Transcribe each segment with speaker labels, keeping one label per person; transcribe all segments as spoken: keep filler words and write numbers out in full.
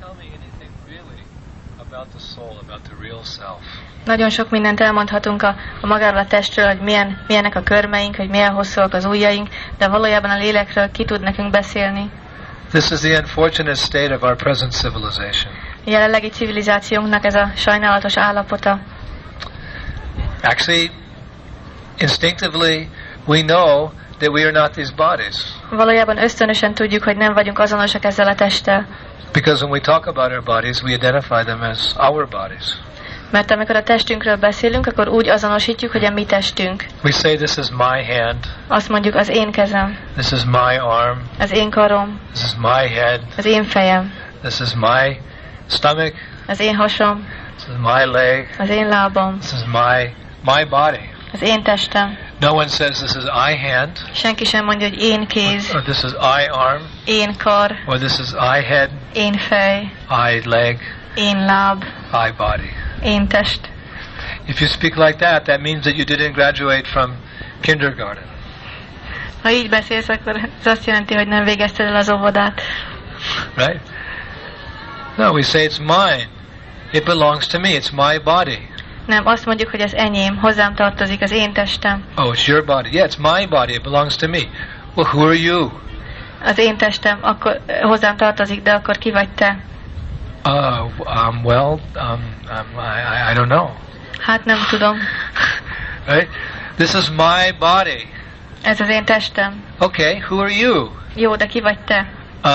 Speaker 1: Nagyon sok mindent elmondhatunk a, a magáról a testről, hogy milyen, milyenek a körmeink, hogy milyen hosszúak az ujjaink, de valójában a lélekről ki tud nekünk beszélni.
Speaker 2: This is the unfortunate state of our present civilization.
Speaker 1: A jelenlegi civilizációnknak ez a sajnálatos állapota.
Speaker 2: Actually, instinctively, we know that we are not these bodies.
Speaker 1: Valójában ösztönösen tudjuk, hogy nem vagyunk azonosak ezzel a testtel.
Speaker 2: Because when we talk about our bodies, we identify them as our bodies.
Speaker 1: Mert amikor a testünkről beszélünk, akkor úgy azonosítjuk, hogy a mi testünk.
Speaker 2: We say this is my hand.
Speaker 1: Azt mondjuk az én kezem.
Speaker 2: This is my arm.
Speaker 1: Az én karom.
Speaker 2: This is my head.
Speaker 1: Az én fejem.
Speaker 2: This is my stomach.
Speaker 1: Az én hasom.
Speaker 2: This is my leg.
Speaker 1: Az én lábam.
Speaker 2: This is my my body.
Speaker 1: Az én testem.
Speaker 2: No one says this is I hand.
Speaker 1: Senki sem mondja, hogy én kéz.
Speaker 2: Or this is I arm.
Speaker 1: Én kar.
Speaker 2: Or this is I head.
Speaker 1: Én fej.
Speaker 2: I leg.
Speaker 1: Én láb.
Speaker 2: I body.
Speaker 1: Én test.
Speaker 2: If you speak like that, that means that you didn't graduate from kindergarten.
Speaker 1: Ha így beszélsz, akkor ez azt jelenti, hogy nem végezted el az óvodát.
Speaker 2: Right? No, we say it's mine. It belongs to me. It's my body.
Speaker 1: Nem, azt mondjuk, hogy ez enyém, hozzám tartozik, az én testem.
Speaker 2: Oh, it's your body. Yeah, it's my body. It belongs to me. Well, who are you?
Speaker 1: Az én testem, akkor hozzám tartozik, de akkor ki vagy te?
Speaker 2: Uh, um, well, um, um, I, I don't know.
Speaker 1: Hát nem tudom.
Speaker 2: Right? This is my body.
Speaker 1: Ez az én testem.
Speaker 2: Okay, who are you?
Speaker 1: Jó, de ki vagy te?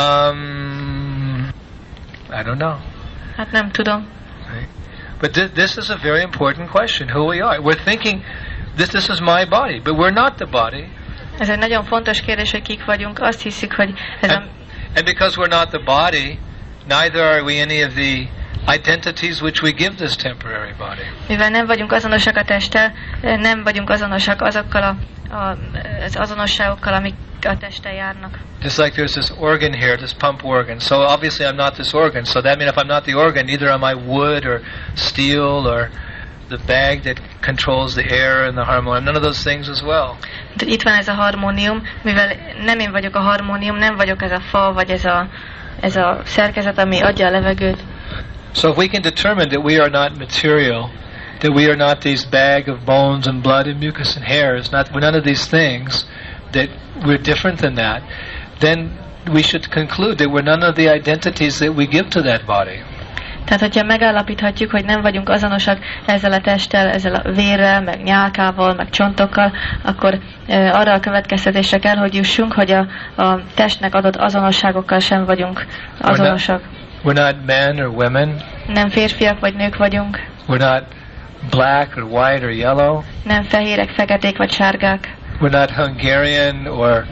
Speaker 2: Um, I don't know.
Speaker 1: Hát nem tudom.
Speaker 2: Right? But th this is a very important question, who we are. We're thinking, this, this is my body, but we're not the body.
Speaker 1: Ez egy nagyon fontos kérdés, hogy kik vagyunk. Azt hiszük, hogy ez
Speaker 2: and,
Speaker 1: a...
Speaker 2: and because we're not the body, neither are we any of the identities which we give this temporary body.
Speaker 1: Mivel nem vagyunk azonosak a testtel, nem vagyunk azonosak azokkal a, a, az azonosságokkal, amik a testtel járnak.
Speaker 2: Just like there's this organ here, this pump organ. So obviously I'm not this organ. So that means if I'm not the organ, either am I wood or steel or the bag that controls the air and the harmonium. None of those things as well.
Speaker 1: De itt van ez a harmónium, mivel nem én vagyok a harmónium, nem vagyok ez a fa, vagy ez a, ez a szerkezet, ami adja a levegőt.
Speaker 2: So if we can determine that we are not material, that we are not this bag of bones and blood and mucus and hairs, not we're none of these things, that we're different than that, then we should conclude that we're none of the identities that we give to that body.
Speaker 1: Tehát, hogyha megállapíthatjuk, hogy nem vagyunk azonosak ezzel a testtel, ezzel a vérrel, meg nyálkával, meg csontokkal, akkor e, arra a következtetésre kell, hogy jussunk, hogy a, a testnek adott azonosságokkal sem vagyunk azonosak.
Speaker 2: We're not, we're not men or women.
Speaker 1: Nem férfiak vagy nők vagyunk.
Speaker 2: We're not black or white or yellow.
Speaker 1: Nem fehérek, feketék vagy sárgák.
Speaker 2: We're not Hungarian or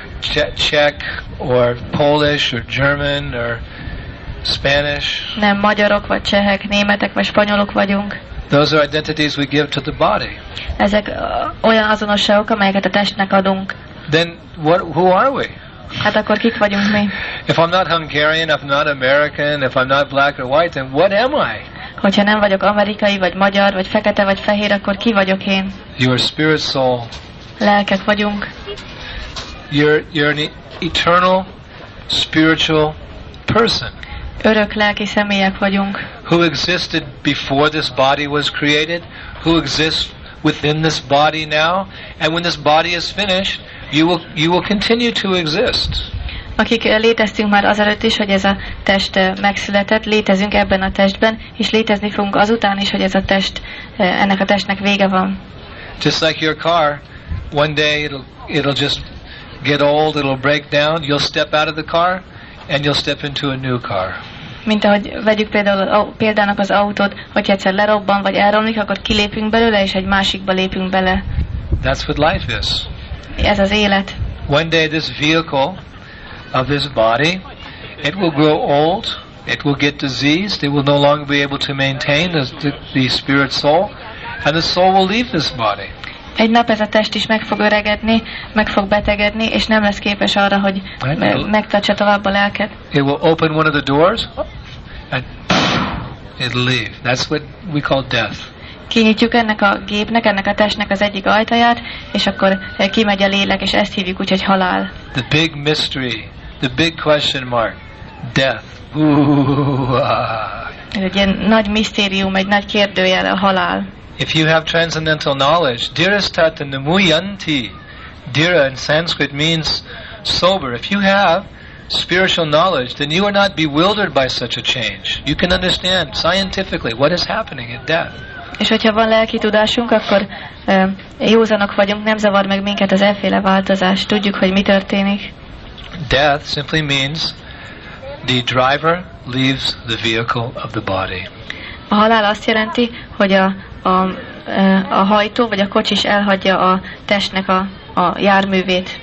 Speaker 2: Czech or Polish or German or Spanish.
Speaker 1: Nem magyarok vagy csehek, németek vagy spanyolok vagyunk.
Speaker 2: Those are identities we give to the body.
Speaker 1: Ezek uh, olyan azonosságok, amelyeket a testnek adunk.
Speaker 2: Then what? Who are we?
Speaker 1: Hát akkor kik vagyunk mi?
Speaker 2: If I'm not Hungarian, if I'm not American, if I'm not black or white, then what am I?
Speaker 1: Hogyha nem vagyok amerikai, vagy magyar, vagy fekete, vagy fehér, akkor ki vagyok én?
Speaker 2: You're spirit soul.
Speaker 1: Lelkek vagyunk.
Speaker 2: You're, you're an eternal spiritual person.
Speaker 1: Örök lelki személyek vagyunk.
Speaker 2: Who existed before this body was created, who exists within this body now, and when this body is finished, you will, you will continue to exist.
Speaker 1: Akik léteztünk már azelőtt is, hogy ez a test megszületett, létezünk ebben a testben, és létezni fogunk azután is, hogy ez a test, ennek a testnek vége van.
Speaker 2: Just like your car, one day it'll, it'll just get old, it'll break down, you'll step out of the car, and you'll step into a new car.
Speaker 1: Mint ahogy vegyük például példának az autót, hogy egyszer lerobban vagy elromlik, akkor kilépünk belőle, és egy másikba lépünk bele.
Speaker 2: That's what life is.
Speaker 1: Ez az élet.
Speaker 2: One day this vehicle of this body, it will grow old, it will get diseased, it will no longer be able to maintain the, the, the spirit soul, and the soul will leave this body.
Speaker 1: Egy nap ez a test is meg fog öregedni, meg fog betegedni, és nem lesz képes arra, hogy me- megtartsa tovább a lelket.
Speaker 2: It will open one of the doors, and it'll leave. That's what we call death.
Speaker 1: Kinyitjuk ennek a gépnek, ennek a testnek az egyik ajtaját, és akkor kimegy a lélek, és ezt hívjuk úgy, hogy halál.
Speaker 2: The big mystery, the big question mark, death. Ooh, ah.
Speaker 1: Ez egy ilyen nagy misztérium, egy nagy kérdőjel a halál.
Speaker 2: If you have transcendental knowledge, dhirastata namuyanti. Dhira in Sanskrit means sober. If you have spiritual knowledge, then you are not bewildered by such a change. You can understand scientifically what is happening at death.
Speaker 1: És hogyha van lelki tudásunk, akkor uh, józanok vagyunk, nem zavar meg minket az efféle változás. Tudjuk, hogy mi történik.
Speaker 2: Death simply means the driver leaves the vehicle of the body.
Speaker 1: A halál azt jelenti, hogy a, a, a hajtó vagy a kocsis elhagyja a testnek a, a járművét.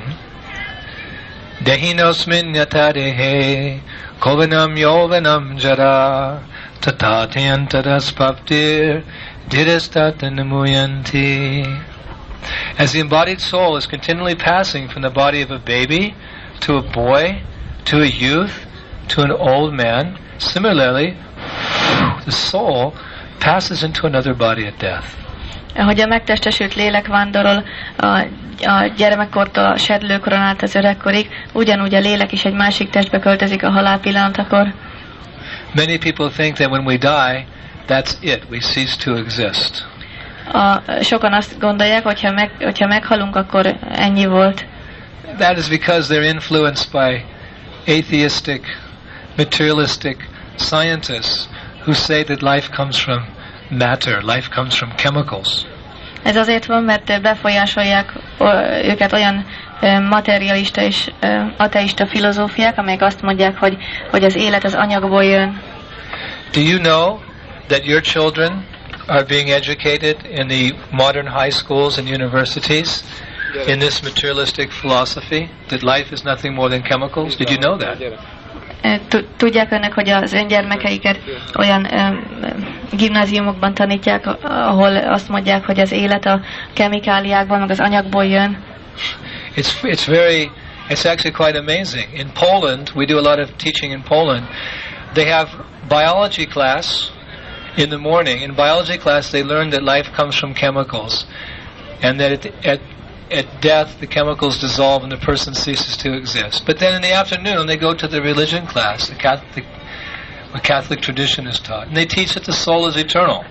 Speaker 2: Dehinosmin yatarehe kovanam yovanam jara tatatyantarasvaptir dhirastatamuyanti. As the embodied soul is continually passing from the body of a baby to a boy, to a youth, to an old man, similarly, the soul passes into another body at death.
Speaker 1: Ahogy a megtestesült lélek vándorol a, a gyermekkortól a sedlőkoron át az öregkorig, ugyanúgy a lélek is egy másik testbe költözik a halál pillanatakor.
Speaker 2: Many people think that when we die, that's it, we cease to exist.
Speaker 1: A, sokan azt gondolják, hogyha, meg, hogyha meghalunk, akkor ennyi volt.
Speaker 2: That is because they're influenced by atheistic, materialistic scientists who say that life comes from matter, life comes from chemicals.
Speaker 1: Ez azért van, mert befolyásolják őket olyan materialista és ateista filozófiák, amelyek azt mondják, hogy, hogy az élet az anyagból jön.
Speaker 2: Do you know that your children are being educated in the modern high schools and universities in this materialistic philosophy, that life is nothing more than chemicals? Did you know that?
Speaker 1: Tudják önök, hogy az ön gyermekeiket olyan gimnáziumokban tanítják, ahol azt mondják, hogy az élet a kemikáliákból, meg az anyagból jön?
Speaker 2: It's it's very it's actually quite amazing. In Poland, we do a lot of teaching in Poland. They have biology class in the morning. In biology class, they learn that life comes from chemicals, and that it, at at death the chemicals dissolve and the person ceases to exist. But then in the afternoon, they go to the religion class, the Catholic, what Catholic tradition is taught, and they teach that the soul is eternal.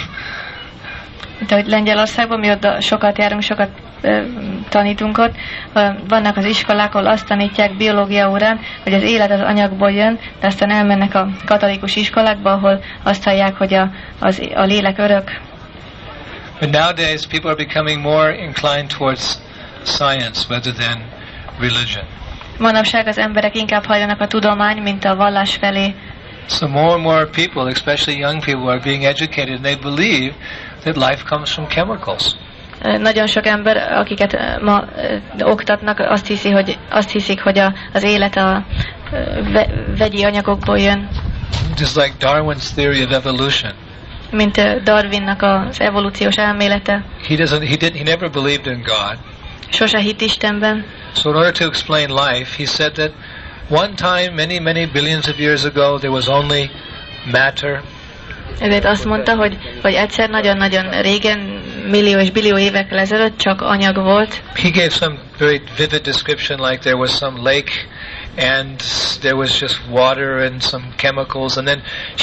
Speaker 1: De hogy Lengyelországban mi ott sokat járunk, sokat uh, tanítunk ott, uh, vannak az iskolák, ahol azt tanítják biológia órán, hogy az élet az anyagból jön, de aztán elmennek a katolikus iskolákba, ahol azt hallják, hogy a, az, a lélek örök.
Speaker 2: But nowadays people are becoming more inclined towards science rather than religion.
Speaker 1: Manapság az emberek inkább hajlanak a tudomány, mint a vallás felé.
Speaker 2: So more and more people, especially young people, are being educated and they believe that life comes from chemicals.
Speaker 1: Nagyon sok ember, akiket ma uh, oktatnak, azt hiszi, hogy azt hiszik, hogy a, az élet a uh, ve, vegyi anyagokból jön.
Speaker 2: Just like Darwin's theory of evolution.
Speaker 1: Mint uh, Darwinnak az evolúciós elmélete.
Speaker 2: He doesn't. He did. He never believed in God.
Speaker 1: Sose hitt Istenben.
Speaker 2: So in order to explain life, he said that one time, many, many billions of years ago, there was only matter.
Speaker 1: Ezért azt mondta, hogy, hogy egyszer nagyon-nagyon régen, millió és billió évekkel ezelőtt csak anyag volt.
Speaker 2: He gave some very vivid description, like there was some lake, and there was just water and some chemicals, and then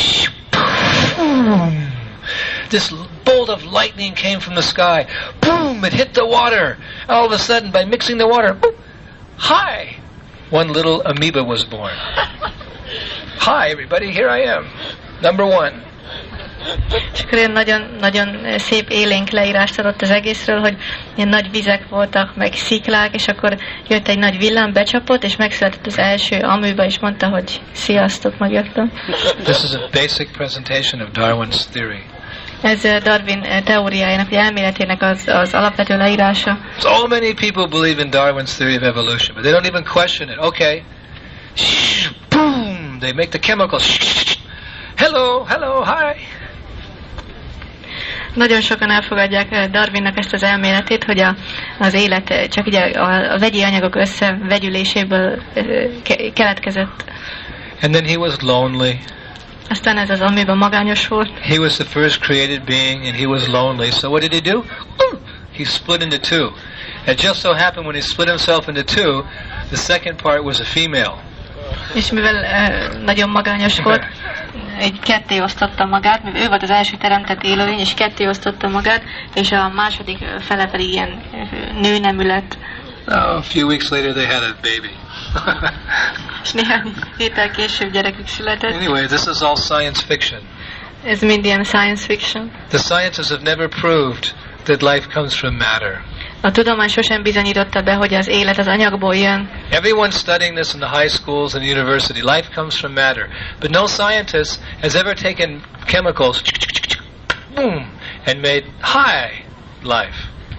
Speaker 2: boom, this bolt of lightning came from the sky. Boom! It hit the water. All of a sudden, by mixing the water, boom, hi! One little amoeba was born. Hi, everybody, here I am. Number one.
Speaker 1: És akkor ilyen nagyon, nagyon szép élénk leírást adott az egészről, hogy ilyen nagy vizek voltak, meg sziklák, és akkor jött egy nagy villám, becsapott, és megszületett az első amőba, és mondta, hogy sziasztok, megjöttem.
Speaker 2: This is a basic presentation of Darwin's theory.
Speaker 1: Ez Darwin teóriájának, vagy elméletének az, az alapvető leírása.
Speaker 2: So many people believe in Darwin's theory of evolution, but they don't even question it. Okay. Boom! They make the chemicals. Hello, hello, hi.
Speaker 1: Nagyon sokan elfogadják Darwinnak ezt az elméletét, hogy a, az élet csak ugye a, a vegyi anyagok összevegyüléséből ke- keletkezett.
Speaker 2: And then he was lonely.
Speaker 1: Aztán ez az amőba magányos volt.
Speaker 2: He was the first created being and he was lonely. So what did he do? He split into two. It just so happened when he split himself into two, the second part was a female.
Speaker 1: És mivel uh, nagyon magányos volt, egy ketté osztotta magát, mivel ő volt az első teremtett élőlény, és ketté osztotta magát, és a második fele pedig ilyen nőnemű lett.
Speaker 2: Oh, a few weeks later they had a baby.
Speaker 1: És néhány héttel később gyerekük született.
Speaker 2: Anyway, this is all science fiction.
Speaker 1: Ez mind ilyen science fiction.
Speaker 2: The scientists have never proved that life comes from matter.
Speaker 1: A tudomány sosem bizonyította be, hogy az élet az anyagból jön.
Speaker 2: Everyone studying this in the high schools and university, life comes from matter. But no scientist has ever taken chemicals, boom, and made high life.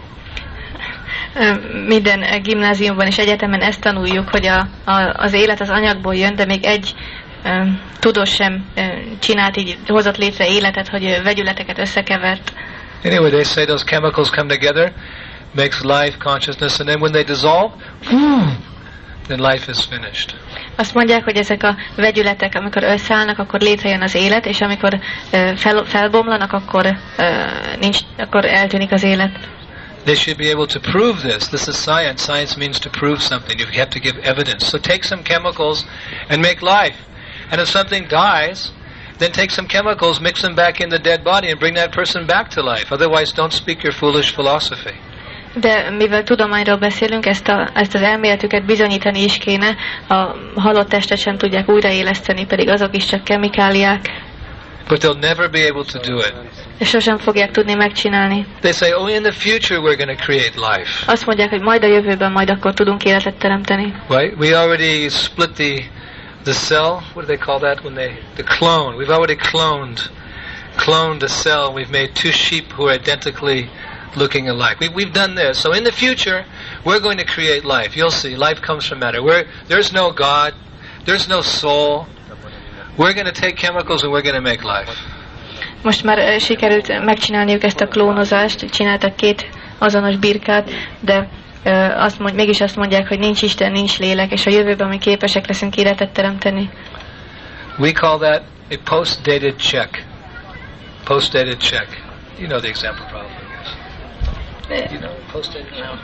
Speaker 1: Minden gimnáziumban és egyetemen ezt tanuljuk, hogy a, a, az élet az anyagból jön, de még egy um, tudós sem um, csinált így, hozott létre életet, hogy vegyületeket összekevert.
Speaker 2: Anyway, they say those chemicals come together, makes life, consciousness, and then when they dissolve, boom, then life is finished.
Speaker 1: Azt mondják, hogy ezek a vegyületek, amikor összeállnak, akkor létrejön az élet, és amikor uh, fel, felbomlanak, akkor, uh, nincs, akkor eltűnik az élet.
Speaker 2: They should be able to prove this. This is science. Science means to prove something. You have to give evidence. So take some chemicals and make life. And if something dies, then take some chemicals, mix them back in the dead body and bring that person back to life. Otherwise, don't speak your foolish philosophy.
Speaker 1: De mivel tudományról beszélünk, ezt, a, ezt az elméletüket bizonyítani is kéne. A halott testet sem tudják újraéleszteni, pedig azok is csak kemikáliák.
Speaker 2: But they'll never be able to do it.
Speaker 1: És sosem fogják tudni megcsinálni.
Speaker 2: They say, oh, in the future we're going to create life.
Speaker 1: Azt mondják, hogy majd a jövőben, majd akkor tudunk életet teremteni.
Speaker 2: Right? We already split the the cell. What do they call that when they the clone? We've already cloned cloned a cell. We've made two sheep who are identically looking alike. We, we've done this. So in the future, we're going to create life. You'll see. Life comes from matter. We're, there's no God. There's no soul. We're going to take chemicals and we're going to make life.
Speaker 1: Most már sikerült megcsinálniuk ezt a klónozást, csináltak két azonos birkát, de uh, azt mond, mégis azt mondják, hogy nincs Isten, nincs lélek, és a jövőben mi képesek leszünk életet teremteni.
Speaker 2: We call that a post-dated check. Post-dated check. You know the example probably. Yes. You know, post-dated check.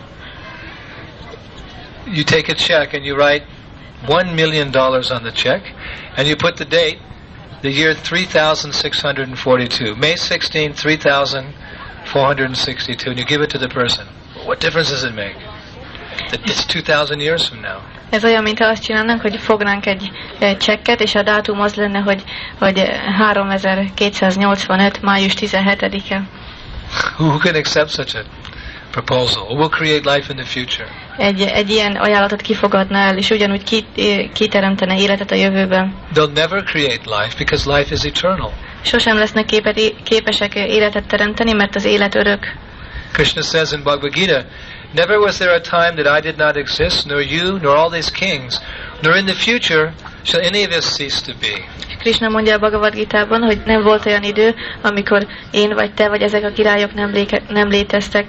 Speaker 2: You take a check and you write one million dollars on the check, and you put the date, the year three thousand six hundred forty-two, May sixteenth, three thousand four hundred sixty-two, and you give it to the person. What difference does it make? That it's two thousand years from now.
Speaker 1: Ez olyan, mint azt csinálnánk, hogy fognánk egy, egy csekket, és a dátum az lenne, hogy, hogy háromezer-kétszáznyolcvanöt. május tizenhetedike.
Speaker 2: Who can accept such a proposal? We'll create life in the future.
Speaker 1: Egy, egy ilyen ajánlatot kifogadna el, és ugyanúgy ki, kiteremtene életet a jövőben.
Speaker 2: They'll never create life because life is eternal.
Speaker 1: Sosem lesznek képet, képesek életet teremteni, mert az élet örök.
Speaker 2: Krishna says in Bhagavad Gita, never was there a time that I did not exist, nor you, nor all these kings, nor in the future shall any of us cease to be.
Speaker 1: Krishna mondja a Bhagavad Gitában, hogy nem volt olyan idő, amikor én vagy te, vagy ezek a királyok nem, léke, nem léteztek.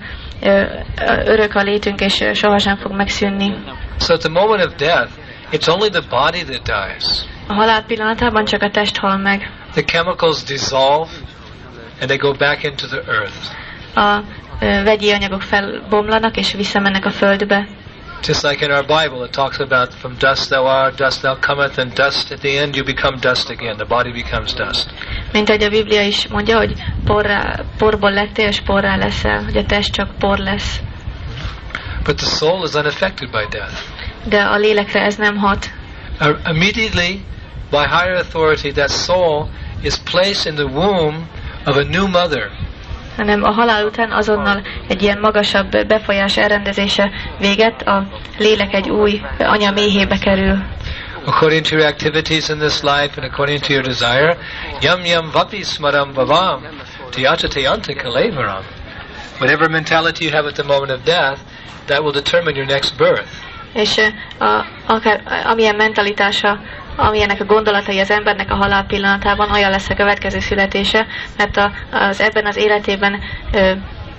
Speaker 1: Örök a létünk, és sohasem fog megszűnni.
Speaker 2: So at the moment of death, it's only the body that dies.
Speaker 1: A halál pillanatában csak a test hal meg.
Speaker 2: The chemicals dissolve, and they go back into the earth.
Speaker 1: A vegyi anyagok felbomlanak, és visszamennek a földbe.
Speaker 2: Just like in our Bible, it talks about from dust thou art, dust thou cometh, and dust at the end you become dust again. The body becomes dust.
Speaker 1: Mint ahogy a Biblia is mondja, hogy porrá, porból lettél, és porrá leszel, hogy a test csak por lesz.
Speaker 2: But the soul is unaffected by death.
Speaker 1: De a lélekre ez nem hat.
Speaker 2: Uh, immediately, by higher authority, that soul is placed in the womb of a new mother.
Speaker 1: Hanem a halál után azonnal egy ilyen magasabb befolyás elrendezése véget, a lélek egy új anya méhébe kerül.
Speaker 2: According to your activities in this life and according to your desire, yam yam vapi smaram vavam, tiyata tiyanta kalevaram. Whatever mentality you have at the moment of death, that will determine your next birth.
Speaker 1: És a, akár, amilyen mentalitása, amilyenek a gondolatai az embernek a halál pillanatában, olyan lesz a következő születése, mert a, az ebben az életében, ö,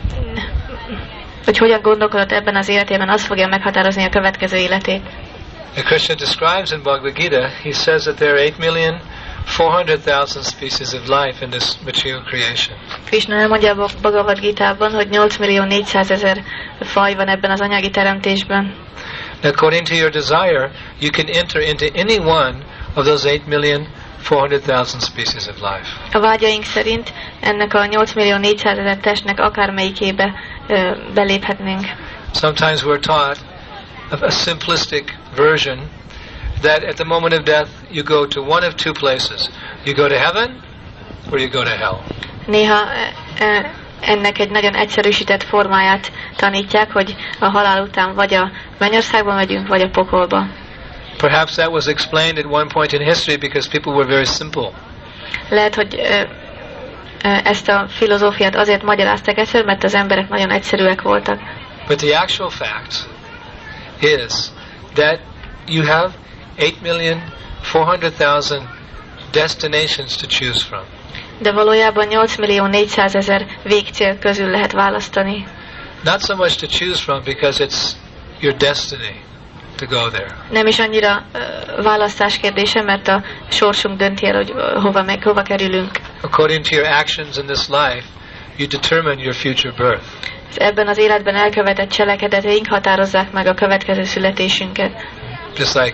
Speaker 1: hogy hogyan gondolkodott ebben az életében, az fogja meghatározni a következő életét.
Speaker 2: And Krishna describes in Bhagavad Gita, he says that there are eight million four hundred thousand species of life in this material creation.
Speaker 1: Krishna elmondja a Bhagavad Gitában, hogy nyolc millió négyszázezer faj van ebben az anyagi teremtésben.
Speaker 2: According to your desire, you can enter into any one of those eight million four hundred thousand species of life.
Speaker 1: A vágyaink szerint ennek a nyolc millió négyszázezer testnek akármelyikébe ö, beléphetnénk.
Speaker 2: Sometimes we're taught a, a simplistic version that at the moment of death you go to one of two places. You go to heaven or you go to hell.
Speaker 1: Néha ö, ennek egy nagyon egyszerűsített formáját tanítják, hogy a halál után vagy a mennyországba megyünk, vagy a pokolba.
Speaker 2: Perhaps that was explained at one point in history because people were very simple.
Speaker 1: Lehet, hogy ö, ö, ezt a filozófiát azért magyarázták egyszer, mert az emberek nagyon egyszerűek voltak.
Speaker 2: But the actual fact is that you have eight million four hundred thousand destinations to choose from.
Speaker 1: De valójában nyolc millió négyszázezer végcél közül lehet választani.
Speaker 2: Not so much to choose from because it's your destiny to go there.
Speaker 1: Nem is annyira uh, választás kérdése, mert a sorsunk dönti el, hogy uh, hova meg, hova kerülünk.
Speaker 2: According to your actions in this life, you determine your future birth.
Speaker 1: Ebben az életben elkövetett cselekedeteink határozzák meg a következő születésünket.
Speaker 2: Just like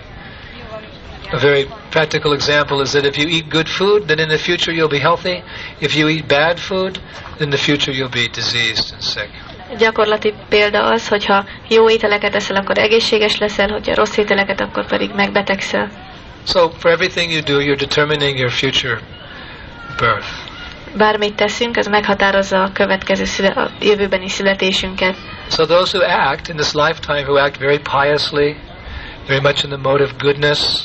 Speaker 2: a very practical example is that if you eat good food, then in the future you'll be healthy. If you eat bad food, then in the future you'll be diseased and sick.
Speaker 1: Gyakorlati példa az, hogyha jó ételeket eszel, akkor egészséges leszel, hogyha rossz ételeket, akkor pedig megbetegszel.
Speaker 2: So for everything you do, you're determining your future birth.
Speaker 1: Bármit teszünk, az meghatározza a következő szüle- a jövőbeni születésünket.
Speaker 2: So those who act in this lifetime, who act very piously, very much in the mode of goodness,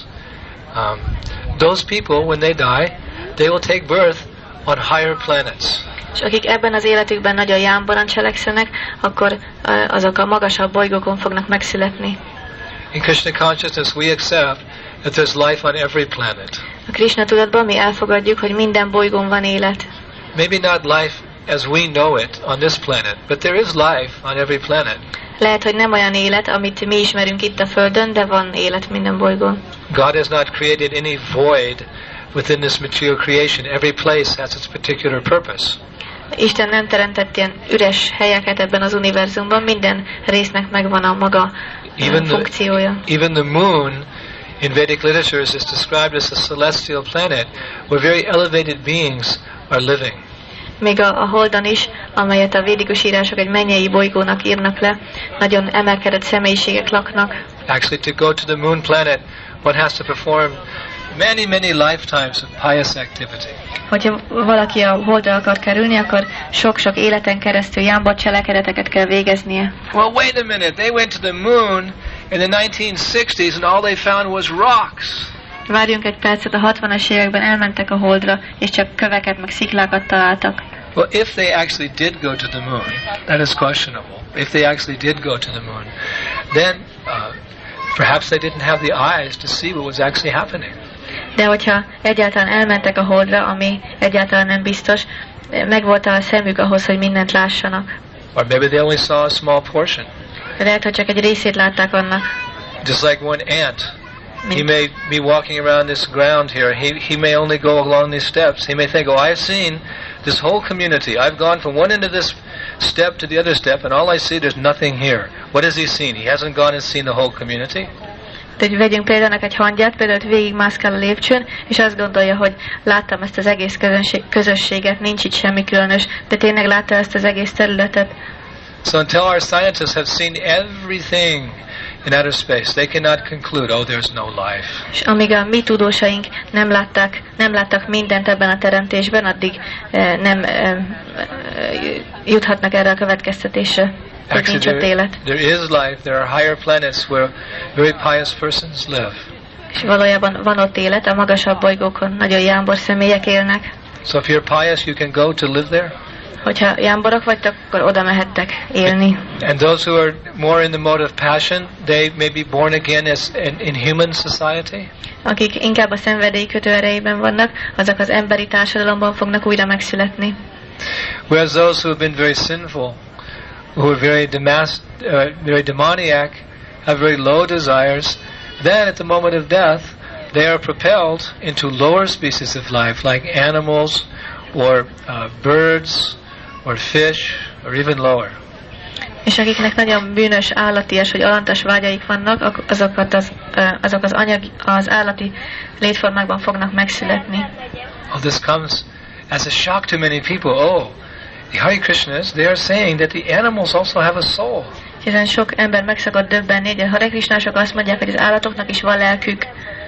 Speaker 2: um, those people, when they die, they will take birth on higher planets.
Speaker 1: És akik ebben az életükben nagyon jámboran cselekszenek, akkor uh, azok a magasabb bolygókon fognak megszületni.
Speaker 2: In Krishna consciousness, we accept that there's life on every planet.
Speaker 1: A Krishna tudatban mi elfogadjuk, hogy minden bolygón van élet.
Speaker 2: Maybe not life as we know it on this planet, but there is life on every planet.
Speaker 1: Lehet, hogy nem olyan élet, amit mi ismerünk itt a Földön, de van élet minden bolygón.
Speaker 2: God has not created any void within this material creation. Every place has its particular purpose.
Speaker 1: Isten nem teremtett ilyen üres helyeket ebben az univerzumban, minden résznek megvan a maga
Speaker 2: even
Speaker 1: funkciója.
Speaker 2: The, even the moon in Vedic literatures is described as a celestial planet where very elevated beings are living.
Speaker 1: Még a, a Holdon is, amelyet a védikus írások egy mennyei bolygónak írnak le, nagyon emelkedett személyiségek laknak.
Speaker 2: Actually, to go to the moon planet, one has to perform many, many lifetimes of pious activity.
Speaker 1: Hogyha valaki a Holdra akar kerülni, akkor sok-sok életen keresztül jámbor cselekedeteket kell végeznie.
Speaker 2: Well, wait a minute. They went to the moon in the nineteen sixties and all they found was rocks.
Speaker 1: Várjunk egy percet, a hatvanas években elmentek a Holdra, és csak köveket meg sziklákat találtak.
Speaker 2: Well, if they actually did go to the moon, that is questionable. If they actually did go to the moon, then uh, perhaps they didn't have the eyes to see what was actually happening.
Speaker 1: De hogyha egyáltalán elmentek a Holdra, ami egyáltalán nem biztos, megvolt a szemük ahhoz, hogy mindent lássanak.
Speaker 2: Or maybe they only saw a small portion.
Speaker 1: Lehet, hogy csak egy részét látták annak.
Speaker 2: Just like one ant. He may be walking around this ground here. He, he may only go along these steps. He may think, oh, I've seen this whole community. I've gone from one end of this step to the other step, and all I see, there's nothing here. What has he seen? He hasn't gone and seen the whole community.
Speaker 1: Tehát vegyünk példának egy hangyát, például végigmászkál a lépcsőn, és azt gondolja, hogy láttam ezt az egész közönség, közösséget, nincs itt semmi különös, de tényleg látta ezt az egész területet.
Speaker 2: So until our scientists have seen everything in outer space, they cannot conclude, oh, there's no life.
Speaker 1: És amíg a mi tudósaink nem látták, nem láttak mindent ebben a teremtésben, addig eh, nem eh, juthatnak erre a következtetésre, hogy nincs ott élet.
Speaker 2: There is life. There are higher planets where very pious persons live.
Speaker 1: És valójában van ott élet, a magasabb bolygókon nagyon jámbor személyek élnek.
Speaker 2: So if you're pious, you can go to live there.
Speaker 1: Hogyha jámborok vagytok, akkor oda mehettek élni.
Speaker 2: And those who are more in the mode of passion, they may be born again as in, in human society.
Speaker 1: Akik inkább a szenvedély kötő erejében vannak, azok az emberi társadalomban fognak újra megszületni.
Speaker 2: Whereas those who have been very sinful, who are very demas- uh, very demoniac, have very low desires, then at the moment of death, they are propelled into lower species of life, like animals or uh, birds or fish or even lower.
Speaker 1: És akiknek nagyon bűnös, állatias vagy alantas vágyaik vannak, azokat az, azok az, anyag, az állati létformákban fognak megszületni.
Speaker 2: Oh, this comes as a shock to many people. Oh, the Hare Krishnas, they are saying that the animals also have a soul.
Speaker 1: Hiszen sok ember meg szokott döbbenni, hogy a Hare Krishnások azt mondják, hogy az állatoknak is van lelkük.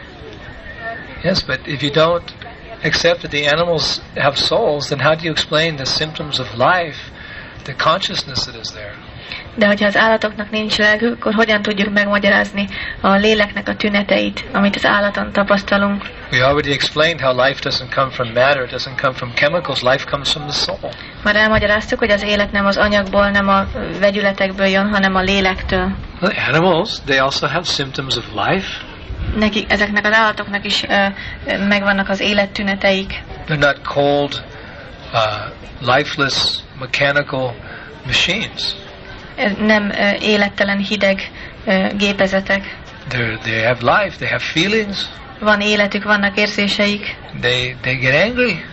Speaker 2: Yes, but if you don't accept that the animals have souls, then how do you explain the symptoms of life, the consciousness that is there?
Speaker 1: De hogyha az állatoknak nincs lelkük, akkor hogyan tudjuk megmagyarázni a léleknek a tüneteit, amit az állaton tapasztalunk?
Speaker 2: We already explained how life doesn't come from matter, it doesn't come from chemicals, life comes from the soul.
Speaker 1: Már elmagyaráztuk, hogy az élet nem az anyagból, nem a vegyületekből jön, hanem a lélektől.
Speaker 2: The animals, they also have symptoms of life.
Speaker 1: Nekik, ezeknek az állatoknak is uh, megvannak az élettüneteik.
Speaker 2: They're not cold, uh, lifeless, mechanical machines.
Speaker 1: Nem uh, élettelen, hideg uh, gépezetek.
Speaker 2: They're, they have life, they have feelings.
Speaker 1: Van életük, vannak érzéseik.
Speaker 2: They, they get angry.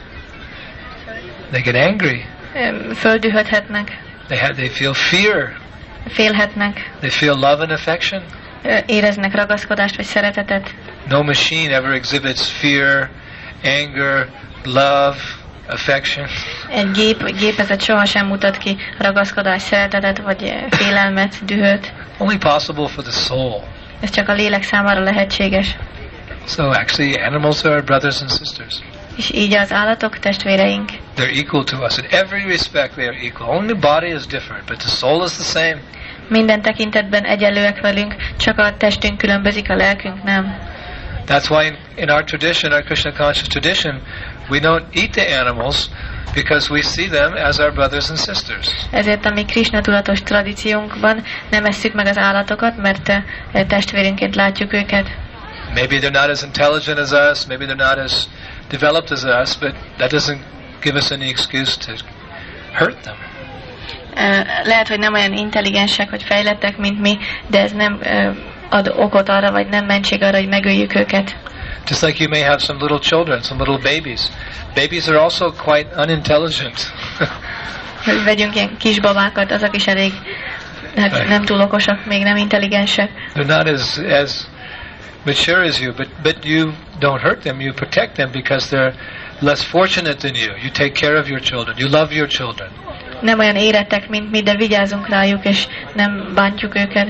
Speaker 2: They get angry.
Speaker 1: Um, földühödhetnek.
Speaker 2: They, have, they feel fear.
Speaker 1: Félhetnek.
Speaker 2: They feel love and affection.
Speaker 1: Éreznek ragaszkodást vagy szeretetet.
Speaker 2: No machine ever exhibits fear, anger, love, affection.
Speaker 1: Egy gép, egy gépezet sohasem mutat ki ragaszkodást, szeretetet vagy félelmet, dühöt.
Speaker 2: Only possible for the soul.
Speaker 1: Ez csak a lélek számára lehetséges.
Speaker 2: So actually animals are our brothers and sisters.
Speaker 1: És így az állatok testvéreink.
Speaker 2: They're equal to us. In every respect they are equal. Only the body is different, but the soul is the same.
Speaker 1: Minden tekintetben egyenlőek velünk, csak a testünk különbözik, a lelkünk nem.
Speaker 2: That's why in, in our tradition, our Krishna conscious tradition, we don't eat the animals because we see them as our brothers and sisters.
Speaker 1: Ezért a mi Krishna tudatos tradíciónkban nem esszük meg az állatokat, mert testvérünként látjuk őket.
Speaker 2: Maybe they're not as intelligent as us, maybe they're not as developed as us, but that doesn't give us any excuse to hurt them.
Speaker 1: Lehet, hogy nem olyan intelligensek vagy fejlettek, mint mi, de ez nem ad okot arra, vagy nem mentség arra, hogy megöljük őket.
Speaker 2: Just like you may have some little children, some little babies. Babies are also quite unintelligent.
Speaker 1: Hogy vegyünk ilyen kisbabákat, azok is elég, hát nem túl okosak, még nem intelligensek.
Speaker 2: They're not as as mature as you, but but you don't hurt them, you protect them because they're less fortunate than you. You take care of your children, you love your children.
Speaker 1: Nem olyan érettek, mint mi, de vigyázunk rájuk, és nem bántjuk őket.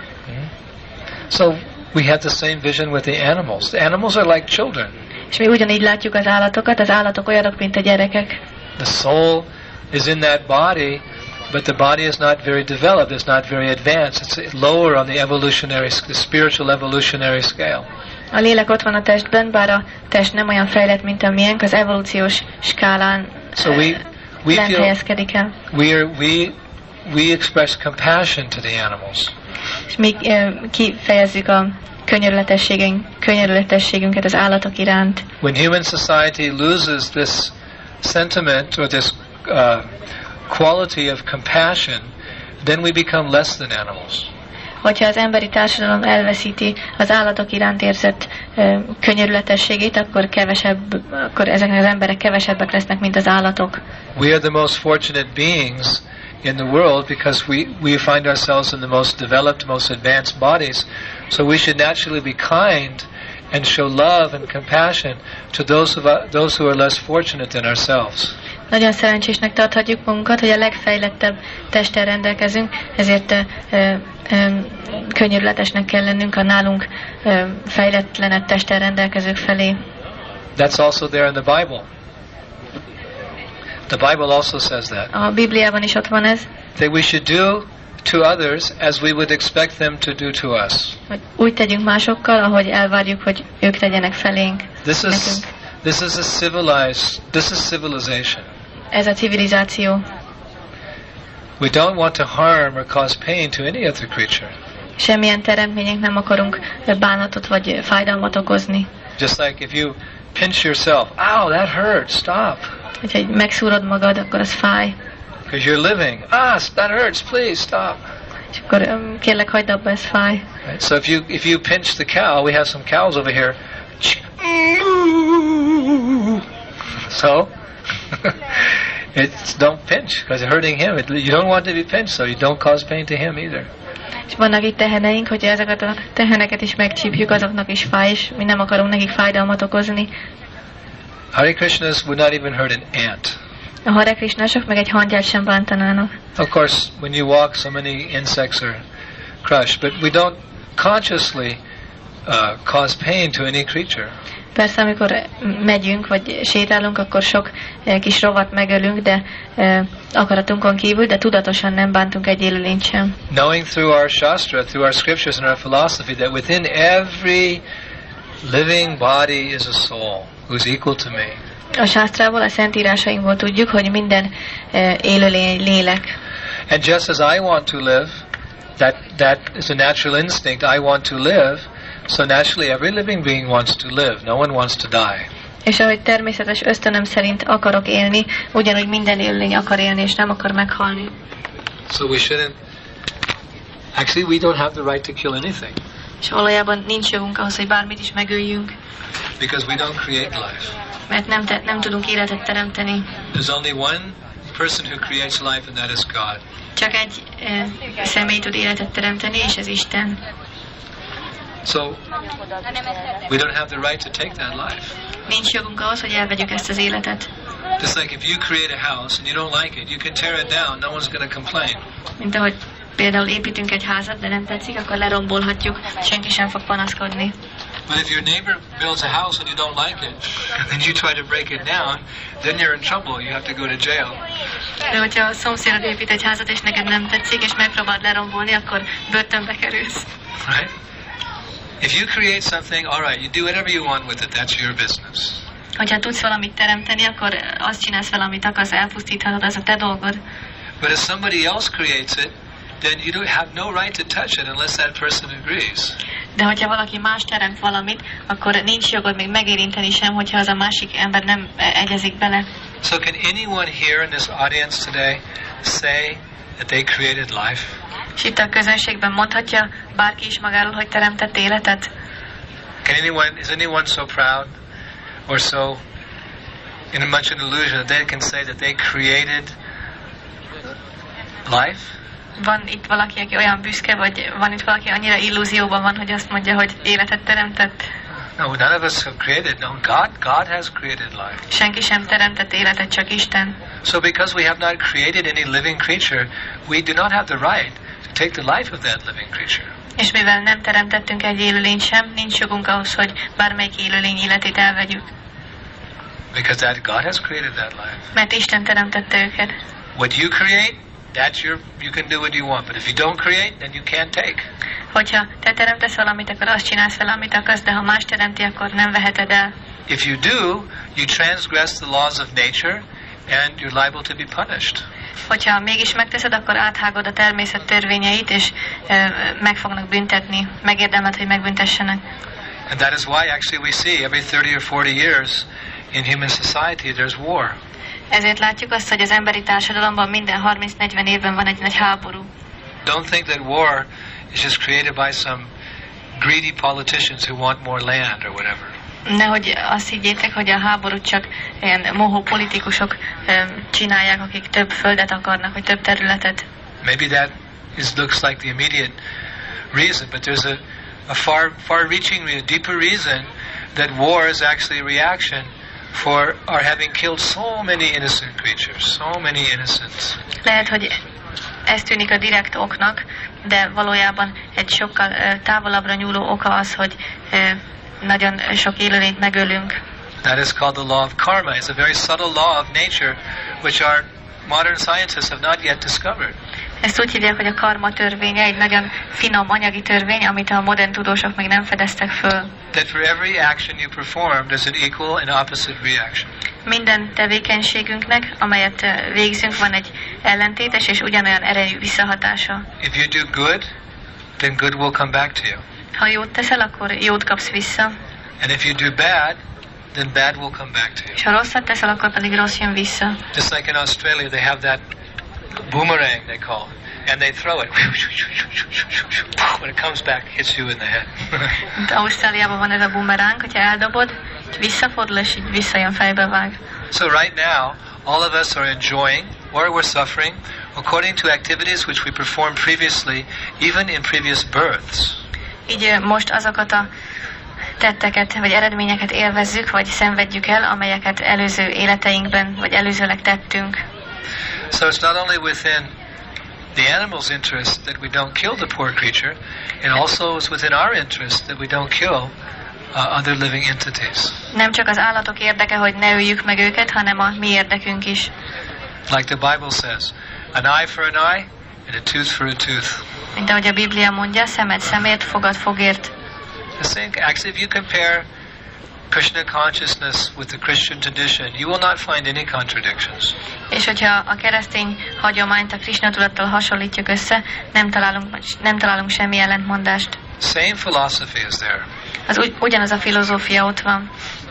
Speaker 2: So we have the same vision with the animals. The animals are like children.
Speaker 1: És mi ugyanígy látjuk az állatokat, az állatok olyanok, mint a gyerekek.
Speaker 2: The soul is in that body, but the body is not very developed, it's not very advanced. It's lower on the evolutionary, the spiritual evolutionary scale.
Speaker 1: A lélek ott van a testben, bár a test nem olyan fejlett, mint a miénk, az evolúciós skálán
Speaker 2: so we, we
Speaker 1: lent
Speaker 2: feel,
Speaker 1: helyezkedik el.
Speaker 2: We, are, we, we express compassion to the animals.
Speaker 1: És mi uh, kifejezzük a könyörületességünk, könyörületességünket az állatok iránt.
Speaker 2: When human society loses this sentiment or this uh, quality of compassion, then we become less than animals.
Speaker 1: Hogyha az emberi társadalom elveszíti az állatok iránt érzett uh, könyörületességét, akkor kevesebb, akkor ezek az emberek kevesebbek lesznek, mint az állatok.
Speaker 2: We are the most fortunate beings in the world because we, we find ourselves in the most developed, most advanced bodies. So we should naturally be kind and show love and compassion to those, of, uh, those who are less fortunate than ourselves.
Speaker 1: Nagyon szerencsésnek tarthatjuk magunkat, hogy a legfejlettebb testtel rendelkezünk, ezért ö, ö, könyörületesnek kell lennünk a nálunk ö, fejletlenebb testtel rendelkezők felé.
Speaker 2: That's also there in the Bible. The Bible also says that.
Speaker 1: A Bibliában is ott van ez.
Speaker 2: That we should do to others as we would expect them to do to us.
Speaker 1: Hogy úgy tegyünk másokkal, ahogy elvárjuk, hogy ők tegyenek felénk.
Speaker 2: This is this is a civilized this is civilization.
Speaker 1: Ez a civilizáció.
Speaker 2: We don't want to harm or cause pain to any other creature.
Speaker 1: Semmilyen teremtménynek nem akarunk bánatot vagy fájdalmat okozni.
Speaker 2: Just like if you pinch yourself, ow, that hurts, stop.
Speaker 1: Hogyha megszúrod magad, akkor az fáj.
Speaker 2: Because you're living, ah, that hurts, please stop.
Speaker 1: És akkor um, kérlek, hagyd abba, ez fáj.
Speaker 2: Right? So if you if you pinch the cow, we have some cows over here. So It's don't pinch because it's hurting him. It, you don't want to be pinched, so you don't cause pain to him either.
Speaker 1: És vannak itt teheneink, hogyha ezeket a teheneket is megcsípjük, azoknak is fáj, és mi nem akarunk nekik fájdalmat okozni.
Speaker 2: Hare Krishnas would not even hurt an ant.
Speaker 1: A Hare Krishnások meg egy hangyát sem bántanának.
Speaker 2: Of course, when you walk, so many insects are crushed, but we don't consciously uh, cause pain to any creature.
Speaker 1: Persze, amikor megyünk, vagy sétálunk, akkor sok eh, kis rovat megölünk, de eh, akaratunkon kívül, de tudatosan nem bántunk egy élőlényt sem.
Speaker 2: Knowing through our shastra, through our scriptures and our philosophy, that within every living body is a soul who's equal to me.
Speaker 1: A sásztrából, a szentírásainkból tudjuk, hogy minden eh, élőlény lélek.
Speaker 2: And just as I want to live, that that is a natural instinct, I want to live, so naturally every living being wants to live. No one wants to die.
Speaker 1: És ahogy természetes ösztönöm szerint akarok élni, ugyanúgy minden élőlény akar élni, és nem akar meghalni.
Speaker 2: So we shouldn't... Actually, we don't have the right to kill anything.
Speaker 1: És valójában nincs jogunk ahhoz, hogy bármit is megöljünk.
Speaker 2: Because we don't create life.
Speaker 1: Mert nem, te, nem tudunk életet teremteni.
Speaker 2: There's only one person who creates life, and that is God.
Speaker 1: Csak egy e, személy tud életet teremteni, és ez Isten.
Speaker 2: So, we don't have the right to take that life.
Speaker 1: Nincs jogunk ahhoz, hogy elvegyük ezt az életet.
Speaker 2: Just like if you create a house and you don't like it, you can tear it down, no one's going to complain.
Speaker 1: Mint ahogy például építünk egy házat, de nem tetszik, akkor lerombolhatjuk, senki sem fog panaszkodni.
Speaker 2: But if your neighbor builds a house and you don't like it, and then you try to break it down, then you're in trouble. You have to go to jail.
Speaker 1: De hogyha a szomszédod épít egy házat, és neked nem tetszik, és megpróbáld lerombolni, akkor börtönbe kerülsz.
Speaker 2: Right? If you create something, all right, you do whatever you want with it. That's your business.
Speaker 1: Hogyha tudsz valamit teremteni, akkor azt csinálsz vele, amit akarsz, elpusztíthatod, az a te dolgod.
Speaker 2: But if somebody else creates it, then you don't have no right to touch it unless that person agrees.
Speaker 1: De hogyha valaki más teremt valamit, akkor nincs jogod még megérinteni sem, hogyha az a másik ember nem egyezik bele.
Speaker 2: So can anyone here in this audience today say that they created life?
Speaker 1: És itt a közönségben mondhatja bárki is magáról, hogy teremtett életet?
Speaker 2: Can anyone, is anyone so proud or so in a much an illusion that they can say that they created life?
Speaker 1: Van itt valaki, aki olyan büszke, vagy van itt valaki annyira illúzióban van, hogy azt mondja, hogy életet teremtett?
Speaker 2: No, none of us have created. No, God, God has created life.
Speaker 1: Senki sem teremtett életet, csak Isten.
Speaker 2: So because we have not created any living creature, we do not have the right to take the life of that living creature.
Speaker 1: És mivel nem teremtettünk egy élőlényt sem, nincs jogunk ahhoz, hogy bármelyik élőlény életét elvegyük.
Speaker 2: Because that God has created that life.
Speaker 1: Mert Isten teremtette őket.
Speaker 2: What you create, that's your, you can do what you want. But if you don't create, then you can't take.
Speaker 1: Hogyha te teremtesz valamit, akkor azt csinálsz vele, amit akarsz, de ha más teremti, akkor nem veheted el.
Speaker 2: If you do, you transgress the laws of nature, and you're liable to be punished.
Speaker 1: Hogyha mégis megteszed, akkor áthágod a természet törvényeit, és e, meg fognak büntetni, megérdemelt, hogy megbüntessenek.
Speaker 2: And that is why actually we see every thirty or forty years in human society there's war.
Speaker 1: Ezért látjuk azt, hogy az emberi társadalomban minden harminc-negyven évben van egy nagy háború.
Speaker 2: Don't think that war is just created by some greedy politicians who want more land or whatever.
Speaker 1: Nehogy azt higgyétek, hogy a háborút csak ilyen mohó politikusok um, csinálják, akik több földet akarnak, vagy több területet.
Speaker 2: Maybe that is looks like the immediate reason, but there's a, a far far-reaching, a deeper reason that war is actually a reaction for our having killed so many innocent creatures, so many innocents.
Speaker 1: Lehet, hogy ez tűnik a direkt oknak, de valójában egy sokkal uh, távolabbra nyúló oka az, hogy uh, nagyon sok élőlényt megölünk.
Speaker 2: That is called the law of karma. It's a very subtle law of nature, which our modern scientists have not yet discovered.
Speaker 1: Ezt úgy hívják, hogy a karma törvénye, egy nagyon finom anyagi törvény, amit a modern tudósok még nem fedeztek föl.
Speaker 2: That for every action you perform, there's an equal and opposite reaction.
Speaker 1: Minden tevékenységünknek, amelyet végzünk, van egy ellentétes és ugyanolyan erejű visszahatása.
Speaker 2: If you do good, then good will come back to you.
Speaker 1: Ha jót teszel, akkor jót kapsz vissza.
Speaker 2: And if you do bad, then bad will come back to you.
Speaker 1: És ha rosszat teszel, akkor pedig rossz jön vissza.
Speaker 2: Just like in Australia, they have that boomerang, they call it, and they throw it. When it comes back, hits you in the head.
Speaker 1: Ausztráliában van ez a boomerang, hogyha eldobod, visszafordul, és így visszajön, fejbe vág.
Speaker 2: So right now, all of us are enjoying or we're suffering according to activities which we performed previously, even in previous births.
Speaker 1: Így most azokat a tetteket, vagy eredményeket élvezzük, vagy szenvedjük el, amelyeket előző életeinkben, vagy előzőleg tettünk.
Speaker 2: So it's not only within the animal's interest that we don't kill the poor creature, it also is within our interest that we don't kill uh, other living entities.
Speaker 1: Nem csak az állatok érdeke, hogy ne öljük meg őket, hanem a mi érdekünk is.
Speaker 2: Like the Bible says, an eye for an eye and a tooth for a tooth.
Speaker 1: Mint ahogy a Biblia mondja, szemed szemért, fogad fogért.
Speaker 2: The same, actually, if you compare Krishna consciousness with the Christian tradition, you will not find any contradictions.
Speaker 1: És hogyha a keresztény hagyományt a Krishna tudattal hasonlítjuk össze, nem találunk, nem találunk semmi ellentmondást.
Speaker 2: Same philosophy is there.
Speaker 1: Az ugy, ugyanaz a filozófia ott van.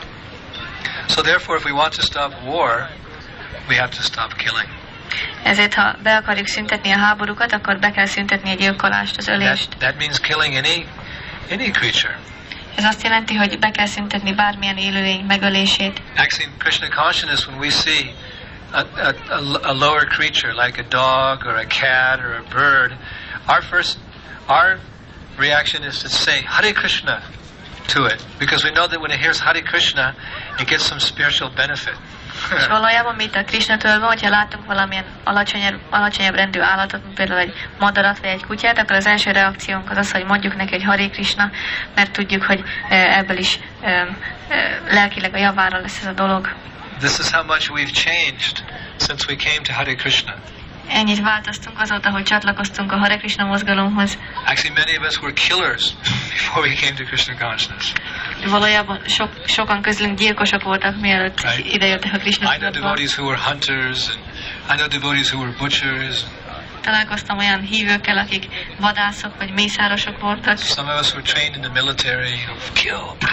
Speaker 2: So therefore, if we want to stop war, we have to stop killing.
Speaker 1: Ezért, ha be akarjuk szüntetni a háborúkat, akkor be kell szüntetni a gyilkolást, az ölést.
Speaker 2: That, that means killing any any creature.
Speaker 1: Ez azt jelenti, hogy be kell szüntetni bármilyen élőlény megölését.
Speaker 2: Actually, in Krishna consciousness, when we see a, a, a, a lower creature like a dog or a cat or a bird, our first, our reaction is to say Hare Krishna to it, because we know that when it hears Hare Krishna, it gets some spiritual benefit.
Speaker 1: És valójában mi itt a Krishnatől van, hogyha látunk valamilyen alacsonyabb, alacsonyabb rendű állatot, mint például egy madarat vagy egy kutyát, akkor az első reakciónk az az, hogy mondjuk neki, hogy Hare Krishna, mert tudjuk, hogy ebből is e, e, lelkileg a javára lesz ez a dolog.
Speaker 2: This is how much we've changed since we came to Hare Krishna.
Speaker 1: Ennyit változtunk azóta, hogy csatlakoztunk a Hare Krishna mozgalomhoz.
Speaker 2: Actually, many of us were killers before we came to Krishna consciousness.
Speaker 1: Valójában sok, sokan közülünk gyilkosok voltak, mielőtt right. idejöttek a Krishna
Speaker 2: I know devotees who were hunters, and I know devotees who were butchers.
Speaker 1: Találkoztam olyan hívőkkel, akik vadászok vagy mészárosok voltak.
Speaker 2: Some of us were trained in the military, you know, kill.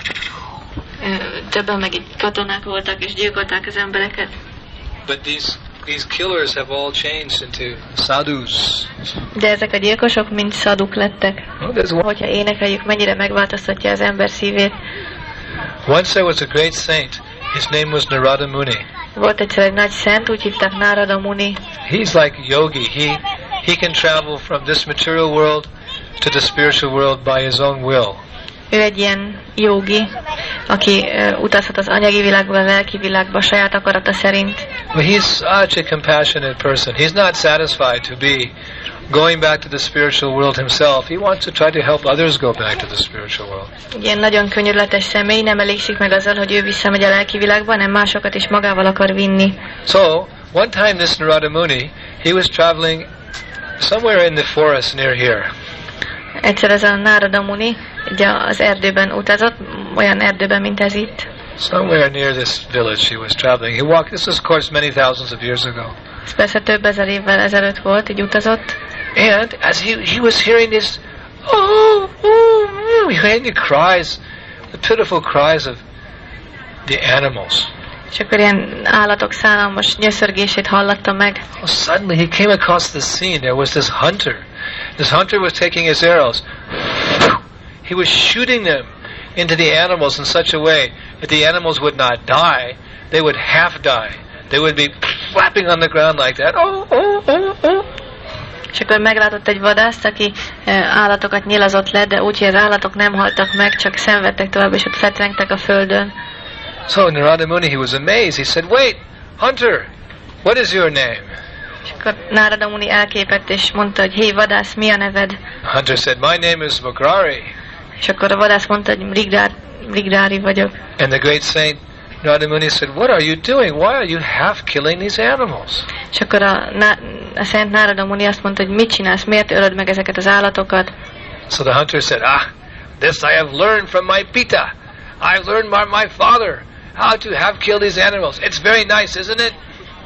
Speaker 1: Többen meg így katonák voltak és gyilkolták az embereket.
Speaker 2: But these These killers have all changed into sadhus.
Speaker 1: De ezek a gyilkosok mind szaduk lettek.
Speaker 2: Oh,
Speaker 1: hogyha énekeljük, mennyire megváltoztatja az ember szívét.
Speaker 2: Once there was a great saint. His name was Narada Muni.
Speaker 1: Volt egyszer egy nagy szent, úgy hívták Narada Muni.
Speaker 2: He's like yogi. He he can travel from this material world to the spiritual world by his own will.
Speaker 1: Ő egy ilyen jogi, aki uh, utazhat az anyagi világból a lelki világba saját akarata szerint.
Speaker 2: Well, he's such a compassionate person. He's not satisfied to be going back to the spiritual world himself. He wants to try to help others go back to the spiritual world.
Speaker 1: Ilyen nagyon könyörületes személy, nem elégszik meg azzal, hogy ő visszamegy a lelki világba, hanem másokat is magával akar vinni.
Speaker 2: So, one time this Narada Muni, he was traveling somewhere in the forest near here.
Speaker 1: Egyszer ez a Narada Muni ugye az erdőben utazott, olyan erdőben, mint ez itt.
Speaker 2: Somewhere near this village he was traveling. He walked, this was of course many thousands of years ago.
Speaker 1: Ez persze több ezer évvel ezelőtt volt, így utazott.
Speaker 2: And as he, he was hearing this, oh, oh, hearing the cries, the pitiful cries of the animals.
Speaker 1: És akkor ilyen állatok szánalmas nyöszörgését hallatta meg.
Speaker 2: Oh, suddenly he came across the scene. There was this hunter. This hunter was taking his arrows. He was shooting them into the animals in such a way that the animals would not die. They would half die. They would be flapping on the ground like that. Oh, oh, oh, oh.
Speaker 1: És akkor meglátott egy vadászt, aki állatokat nyilazott le, de úgy, hogy az állatok nem haltak meg, csak szenvedtek tovább, és ott fetrengtek a földön.
Speaker 2: So Narada Muni, he was amazed. He said, "Wait, hunter, what is your name?"
Speaker 1: És akkor Narada Muni elképett, és mondta, hogy hé, vadász, mi a neved?
Speaker 2: The hunter said, "My name is Vagrari."
Speaker 1: És akkor a vadász mondta, hogy Mrigdár, Mrigdári vagyok.
Speaker 2: And the great saint Narada Muni said, "What are you doing? Why are you half killing these animals?"
Speaker 1: És akkor a, a szent Narada Muni azt mondta, hogy mit csinálsz, miért ölöd meg ezeket az állatokat?
Speaker 2: So the hunter said, "Ah, this I have learned from my Pita. I've learned from my father how to have killed these animals. It's very nice, isn't it?"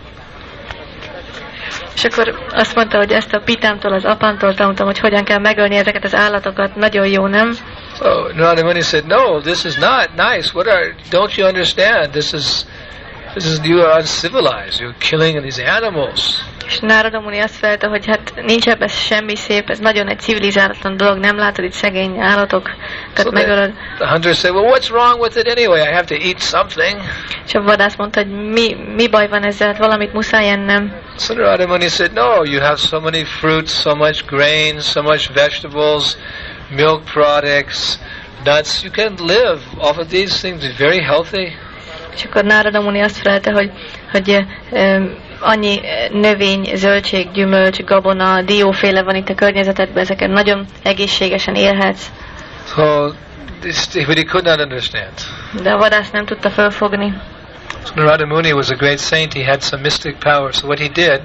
Speaker 1: És akkor azt mondta, hogy ezt a pitámtól, az apámtól tanultam, hogy hogyan kell megölni ezeket az állatokat. Nagyon jó, nem?
Speaker 2: So Narada Muni said, "No, this is not nice. What are? Don't you understand? This is, this is you are uncivilized. You're killing these animals."
Speaker 1: És Nárada Muni azt felelte, hogy hát nincs ebben semmi szép, ez nagyon egy civilizálatlan dolog, nem látod itt szegény állatokat
Speaker 2: So
Speaker 1: megölöd.
Speaker 2: the hunter said, well, what's wrong with it anyway? I have to eat something.
Speaker 1: És a vadász mondta, hogy mi, mi baj van ezzel, hát valamit muszáj ennem.
Speaker 2: So Narada Muni said, no, you have so many fruits, so much grains, so much vegetables, milk products, nuts. You can live off of these things, be very healthy.
Speaker 1: És akkor Nárada Muni azt felelte, hogy, hogy um, annyi növény, zöldség, gyümölcs, gabona, dióféle van itt a környezetedben, ezeket nagyon egészségesen élhetsz.
Speaker 2: So, this, but he could not understand.
Speaker 1: De a vadász nem tudta fölfogni.
Speaker 2: So Narada Muni was a great saint. He had some mystic power. So what he did,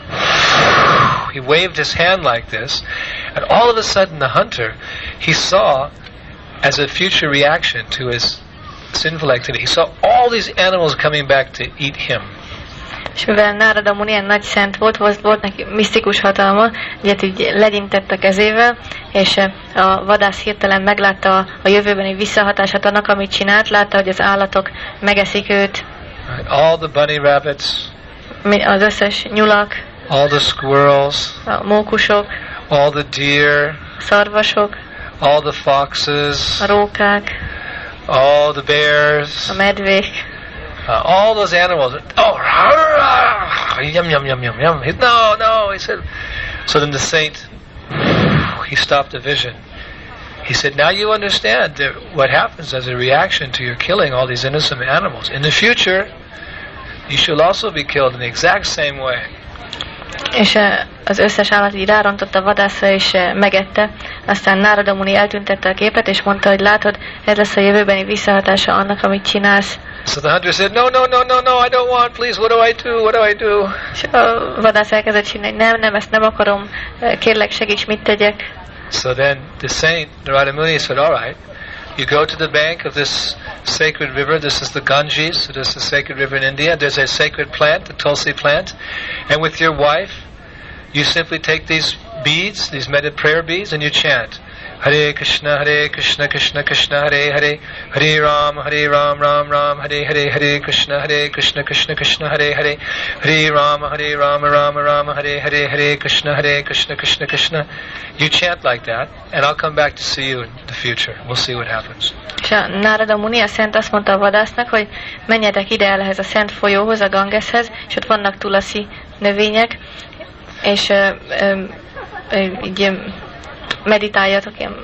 Speaker 2: he waved his hand like this, and all of a sudden the hunter, he saw, as a future reaction to his sinful activity, he saw all these animals coming back to eat him.
Speaker 1: És mivel Nárada Muni ilyen nagy szent volt, volt, volt neki misztikus hatalma, egyet így legyintett a kezével, és a vadász hirtelen meglátta a, a jövőbeni visszahatását annak, amit csinált, látta, hogy az állatok megeszik őt.
Speaker 2: All the bunny rabbits,
Speaker 1: az összes nyulak,
Speaker 2: all the squirrels,
Speaker 1: a mókusok,
Speaker 2: all the deer,
Speaker 1: a szarvasok,
Speaker 2: all the foxes,
Speaker 1: a rókák,
Speaker 2: all the bears,
Speaker 1: a medvék,
Speaker 2: uh, all those animals. Oh, yum yum yum yum yum. He, no, no. He said. So then the saint, he stopped the vision. He said, now you understand that what happens as a reaction to your killing all these innocent animals. In the future, you shall also be killed in the exact same way.
Speaker 1: És az összes állat így rárontott a vadászra, és megette. Aztán Nárada Muni eltüntette a képet, és mondta, hogy látod, ez lesz a jövőbeni visszahatása annak, amit csinálsz.
Speaker 2: So the hunter said, no, no, no, no, no, I don't want, please, what do I do, what do I do?
Speaker 1: És a vadász elkezdett csinálni, nem, nem, ezt nem akarom, kérlek, segíts, mit tegyek.
Speaker 2: So then the saint, Narada Muni, said, all right, you go to the bank of this sacred river. This is the Ganges. So this is a sacred river in India. There's a sacred plant, the Tulsi plant. And with your wife, you simply take these beads, these meditate prayer beads, and you chant. Hare Krishna, Hare Krishna, Krishna Krishna, Hare Hare, Hare Ram, Hare Ram, Ram Ram, Hare Hare, Hare Krishna, Hare Krishna, Krishna Krishna, Hare Hare, Hare Ram, Hare Ram, Ram Ram, Hare Hare, Hare Krishna, Hare Krishna, Krishna Krishna. You chant like that, and I'll come back to see you in the future. We'll see what happens.
Speaker 1: És a Nárada Muni, a szent azt mondta a vadásznak, hogy menjetek ide el ehhez a szent folyóhoz, a Gangeshez, és ott vannak tulasi növények, és ö, ö, ö, így meditáljatok, ilyen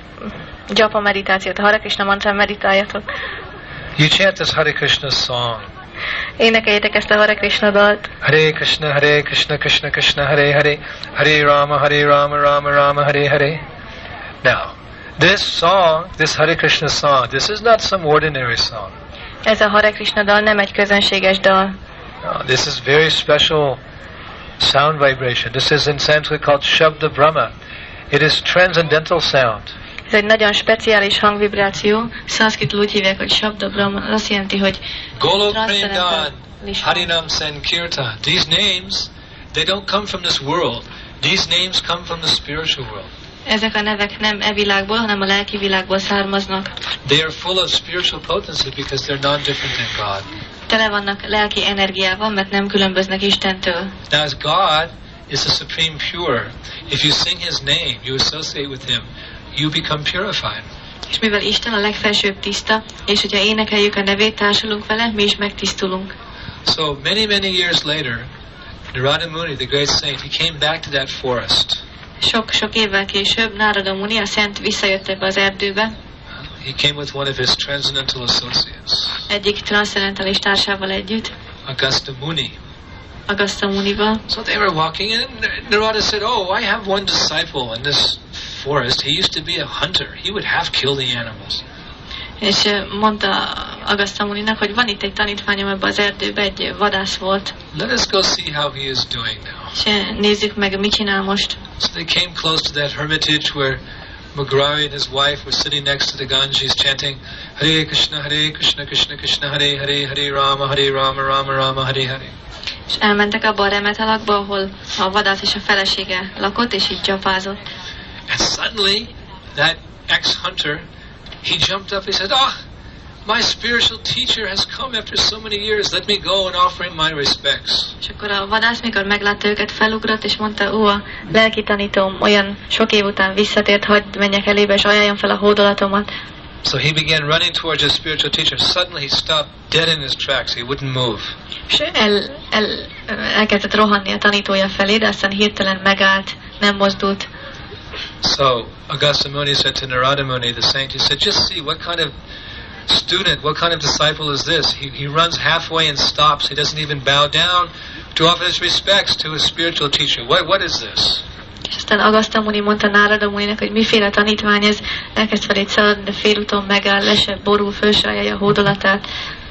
Speaker 1: japa meditációt, a Hare Krishna mantrán meditáljatok.
Speaker 2: You chant this Hare Krishna song.
Speaker 1: Énekeljétek ezt a Hare Krishna dalt.
Speaker 2: Hare Krishna, Hare Krishna, Krishna Krishna, Hare Hare, Hare Rama, Hare Rama, Rama Rama, Hare Hare. Now, this song, this Hare Krishna song, this is not some ordinary song.
Speaker 1: Ez a Hare Krishna dal nem egy közönséges dal.
Speaker 2: No, this is very special sound vibration. This is in Sanskrit called Shabda Brahma. It is transcendental sound.
Speaker 1: Ez egy nagyon speciális hangvibráció. Szanszkritul úgy hívják, hogy Shabda Brahma. Az azt jelenti, hogy
Speaker 2: Golok Prendan, Harinam Sankirtan. These names, they don't come from this world. These names come from the spiritual world.
Speaker 1: Ezek a nevek nem e világból, hanem a lelki világból származnak.
Speaker 2: They are full of spiritual potency because they're non-different than God.
Speaker 1: Tele vannak lelki energiával, mert nem különböznek Istentől.
Speaker 2: Now as God is the supreme pure, if you sing His name, you associate with Him, you become purified.
Speaker 1: És mivel Isten a legfelsőbb tiszta, és hogyha énekeljük a nevét, társulunk vele, mi is megtisztulunk.
Speaker 2: So many, many years later, Narada Muni, the great saint, he came back to that forest.
Speaker 1: Sok-sok évvel később Nárada Muni, a szent, visszajött ebbe az erdőbe.
Speaker 2: He came with one of his transcendental associates.
Speaker 1: Egyik transzcendentális társával együtt.
Speaker 2: Agastya Muni.
Speaker 1: Agastya Munival.
Speaker 2: So they were walking and Narada said, oh, I have one disciple in this forest. He used to be a hunter. He would half kill the animals.
Speaker 1: És mondta Agastya Muninak, hogy van itt egy tanítványom ebbe az erdőbe, egy vadász volt.
Speaker 2: Let us go see how he is doing now.
Speaker 1: És nézzük meg, mit csinál most.
Speaker 2: So they came close to that hermitage where Mugrari and his wife were sitting next to the Ganges chanting Hare Krishna, Hare Krishna, Krishna Krishna, Hare Hare, Hare Rama, Hare Rama, Rama Rama, Hare Hare.
Speaker 1: És elmentek abba a remetelakba, ahol a vadász és a felesége lakott, és így csapázott.
Speaker 2: And suddenly, that ex-hunter, he jumped up, he said, oh, my spiritual teacher has come after so many years. Let me go and offer him my respects.
Speaker 1: És akkor a vadász, mikor meglátta őket, felugrott, és mondta, ó, a lelki tanítóm olyan sok év után visszatért, hagyd menjek elébe, és ajánljam fel a hódolatomat.
Speaker 2: So he began running towards his spiritual teacher. Suddenly he stopped dead in his tracks. He wouldn't move.
Speaker 1: És el, el, elkezdett rohanni a tanítója felé, de aztán hirtelen megállt, nem mozdult.
Speaker 2: So Agastya Muni said to Narada Muni, the saint, he said, just see what kind of student, what kind of disciple is this? He, he runs halfway and stops. He doesn't even bow down to offer his respects to his spiritual teacher. What, what is this?
Speaker 1: És aztán Agastya Muni mondta Nárada Muninak, hogy miféle tanítvány ez, elkezd felét szaladni, de félúton megáll, le se borul, föl se ajánlja a hódolatát.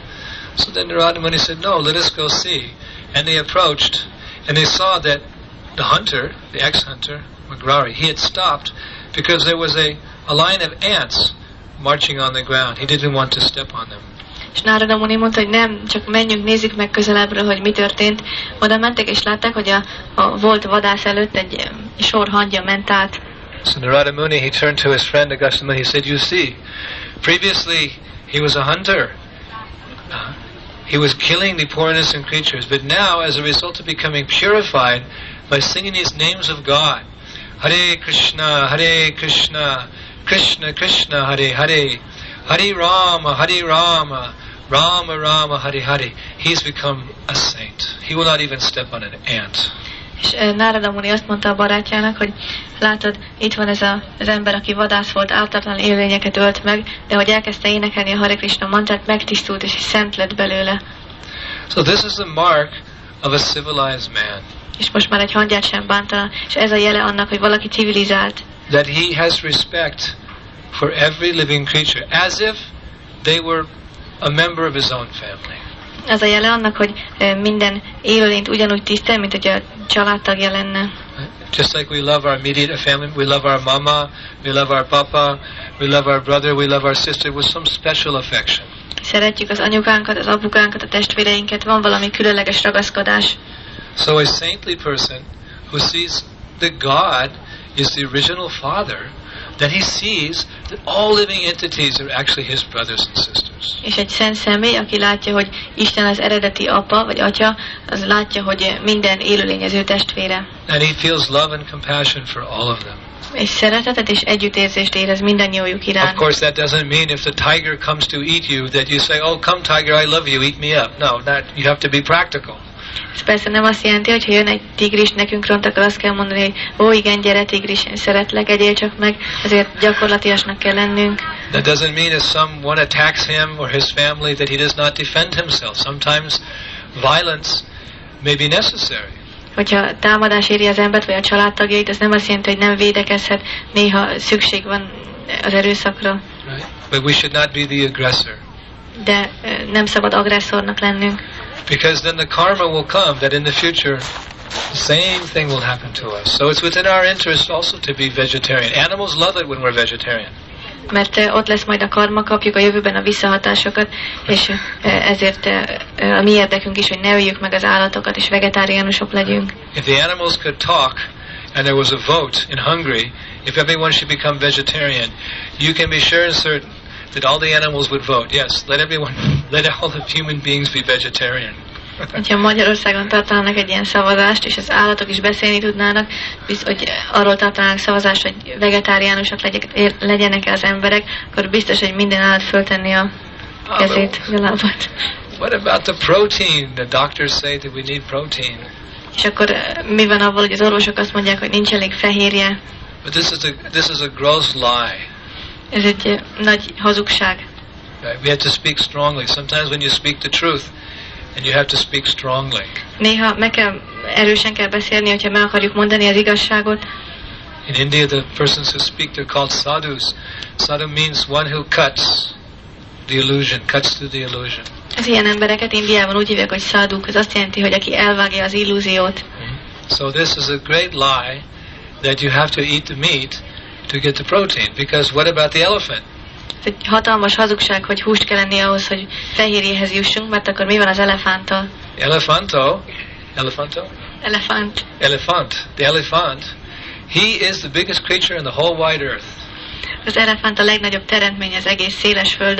Speaker 2: So then Narada Muni said, no, let us go see. And they approached, and they saw that the hunter, the ex-hunter, Magrari, he had stopped because there was a, a line of ants marching on the ground. He didn't want to step on them.
Speaker 1: És Nárada Muni mondta, hogy nem, csak menjünk, nézzük meg közelebbről, hogy mi történt. Oda mentek, és látták, hogy a, a volt vadász előtt egy sor hangya ment át.
Speaker 2: So Narada Muni, he turned to his friend Agastya Muni, he said, you see, previously he was a hunter. Uh, he was killing the poor innocent creatures, but now, as a result of becoming purified by singing these names of God, Hare Krishna, Hare Krishna, Krishna Krishna, Hare Hare, Hare Rama, Hare Rama, Rama Rama, Hare Hare. He's become a saint. He will not even step on an ant.
Speaker 1: És Nárada Muni azt mondta a barátjának, hogy látod, itt van ez a, az ember, aki vadász volt, ártatlan élőlényeket ölt meg, de hogy elkezdte énekelni a Hare Krishna mantrát, megtisztult és szent lett belőle.
Speaker 2: So this is the mark of a civilized man.
Speaker 1: És most már egy hangyát sem bántana, és ez a jele annak, hogy valaki civilizált.
Speaker 2: That he has respect for every living creature, as if they were a member of his own family.
Speaker 1: Ez a jele annak, hogy minden élőlényt ugyanúgy tisztel, mint hogy a családtagja lenne.
Speaker 2: Just like we love our immediate family, we love our mama, we love our papa, we love our brother, we love our sister with some special affection.
Speaker 1: Szeretjük az anyukánkat, az apukánkat, a testvéreinket, van valami különleges ragaszkodás.
Speaker 2: So a saintly person who sees that God is the original Father, then he sees that all living entities are actually his brothers and sisters.
Speaker 1: És egy szent személy, aki látja, hogy Isten az eredeti apa vagy atya, az látja, hogy minden élőlény az ő testvére.
Speaker 2: And he feels love and compassion for all of them.
Speaker 1: És szeretetet és együttérzést érez mindannyiójuk iránt.
Speaker 2: Of course, that doesn't mean if the tiger comes to eat you that you say, "Oh, come tiger, I love you, eat me up." No, that you have to be practical.
Speaker 1: Ez persze nem azt jelenti, hogy ha jön egy tigris nekünk ront, akkor azt kell mondani, hogy ó, igen, gyere tigris, én szeretlek, egyél csak meg, azért gyakorlatiasnak kell lennünk.
Speaker 2: That doesn't mean if someone attacks him or his family that he does not defend himself. Sometimes violence may be necessary.
Speaker 1: Hogyha támadás éri az embert vagy a családtagjait, az nem azt jelenti, hogy nem védekezhet, néha szükség van az erőszakra.
Speaker 2: Right. But we should not be the aggressor.
Speaker 1: De nem szabad agresszornak lennünk.
Speaker 2: Because then the karma will come that in the future the same thing will happen to us. So it's within our interest also to be vegetarian. Animals love it when we're vegetarian.
Speaker 1: Mert ott lesz majd a karma, kapjuk a jövőben a visszahatásokat, és ezért a mi érdekünk is, hogy ne öljük meg az állatokat, és vegetáriánusok legyünk.
Speaker 2: If the animals could talk, and there was a vote in Hungary, if everyone should become vegetarian, you can be sure and certain that all the animals would vote. Yes, let everyone, let all the human beings be vegetarian.
Speaker 1: Ha Magyarországon tartanának egy ilyen szavazást, és az állatok is beszélni tudnának, bizt, hogy arról tartanának szavazást, hogy vegetáriánusok legyenek-e az emberek, akkor biztos, hogy minden állat föltenni a kezét, a lábat.
Speaker 2: What about the protein? The doctors say that we need protein.
Speaker 1: És akkor mi van avval, hogy az orvosok azt mondják, hogy nincs elég fehérje?
Speaker 2: But this is a this is a gross lie.
Speaker 1: Ez egy nagy hazugság.
Speaker 2: Right? We have to speak strongly. Sometimes when you speak the truth, and you have to speak strongly.
Speaker 1: Néha meg kell, erősen kell beszélni, hogyha meg akarjuk mondani az igazságot.
Speaker 2: In India, the persons who speak, they're called sadhus. Sadhu means one who cuts the illusion, cuts through the illusion.
Speaker 1: Az ilyen embereket Indiában úgy hívják, hogy száduk. Ez azt jelenti, hogy aki elvágja az illúziót.
Speaker 2: Mm-hmm. So this is a great lie that you have to eat the meat to get the protein. Because what about the elephant?
Speaker 1: Ez egy hatalmas hazugság, hogy húst kell enni ahhoz, hogy fehérjéhez jussunk, mert akkor mi van az elefánttal?
Speaker 2: Elefanto, elefanto?
Speaker 1: Elefánt.
Speaker 2: Elephant. The elephant, he is the biggest creature in the whole wide earth.
Speaker 1: Az elefánt a legnagyobb teremtmény az egész széles földön.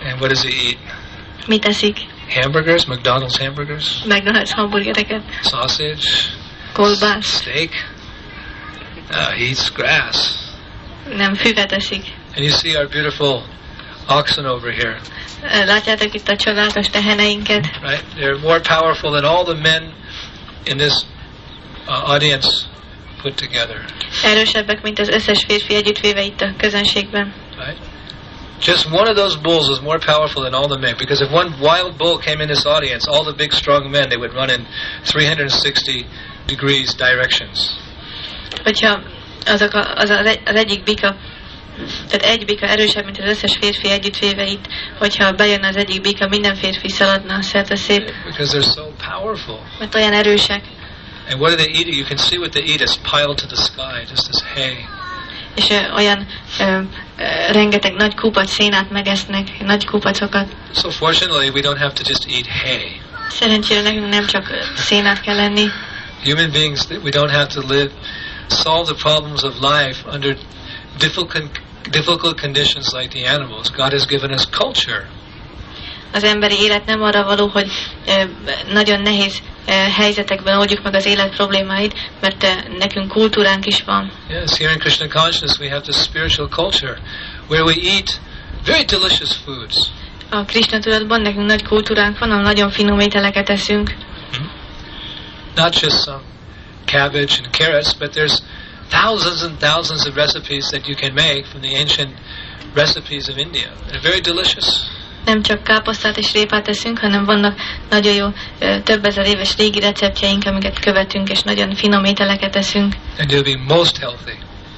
Speaker 2: And what does he eat?
Speaker 1: Mit eszik?
Speaker 2: Hamburgers, McDonald's hamburgers,
Speaker 1: McDonald's hamburgereket,
Speaker 2: sausage,
Speaker 1: kolbász,
Speaker 2: steak. Uh, he eats grass.
Speaker 1: nem füvet eszik.
Speaker 2: And you see our beautiful oxen over here.
Speaker 1: Látjátok itt a csodálatos teheneinket?
Speaker 2: Right? They're more powerful than all the men in this uh, audience put together.
Speaker 1: Erősebbek, mint az összes férfi együttvéve itt a közönségben.
Speaker 2: Right? Just one of those bulls is more powerful than all the men, because if one wild bull came in this audience, all the big strong men, they would run in three hundred sixty degrees directions.
Speaker 1: Hogyha azok a, az, az, egy, az egyik bika, tehát egy bika erősebb, mint az összes férfi együttvéve itt, hogyha bejön az egyik bika, minden férfi szaladna szerte szét.
Speaker 2: Because they're so powerful.
Speaker 1: Mert olyan erősek.
Speaker 2: And what are they eating? You can see what they eat is piled to the sky, just this hay.
Speaker 1: És ö, olyan ö, ö, rengeteg nagy kupac szénát megesznek, nagy kupacokat.
Speaker 2: So fortunately, we don't have to just eat hay.
Speaker 1: Szerencsére nekünk nem csak szénát kell lenni.
Speaker 2: Human beings, we don't have to live, solve the problems of life under difficult, difficult conditions like the animals. God has given us culture.
Speaker 1: Az emberi élet nem arra való, hogy ö, nagyon nehéz ö, helyzetekben oldjuk meg az élet problémáit, mert ö, nekünk kultúránk is van.
Speaker 2: Yes, here in Krishna consciousness we have this spiritual culture where we eat very delicious foods.
Speaker 1: A Krishna tudatban nekünk nagy kultúránk van, ahol nagyon finom ételeket eszünk.
Speaker 2: Not just some cabbage and carrots, but there's thousands and thousands of recipes that you can make from the ancient recipes of India. They're very delicious.
Speaker 1: Nem csak káposztát és répát eszünk, hanem vannak nagyon jó, több ezer éves régi receptjeink, amiket követünk, és nagyon finom ételeket eszünk.
Speaker 2: And you'll be most healthy.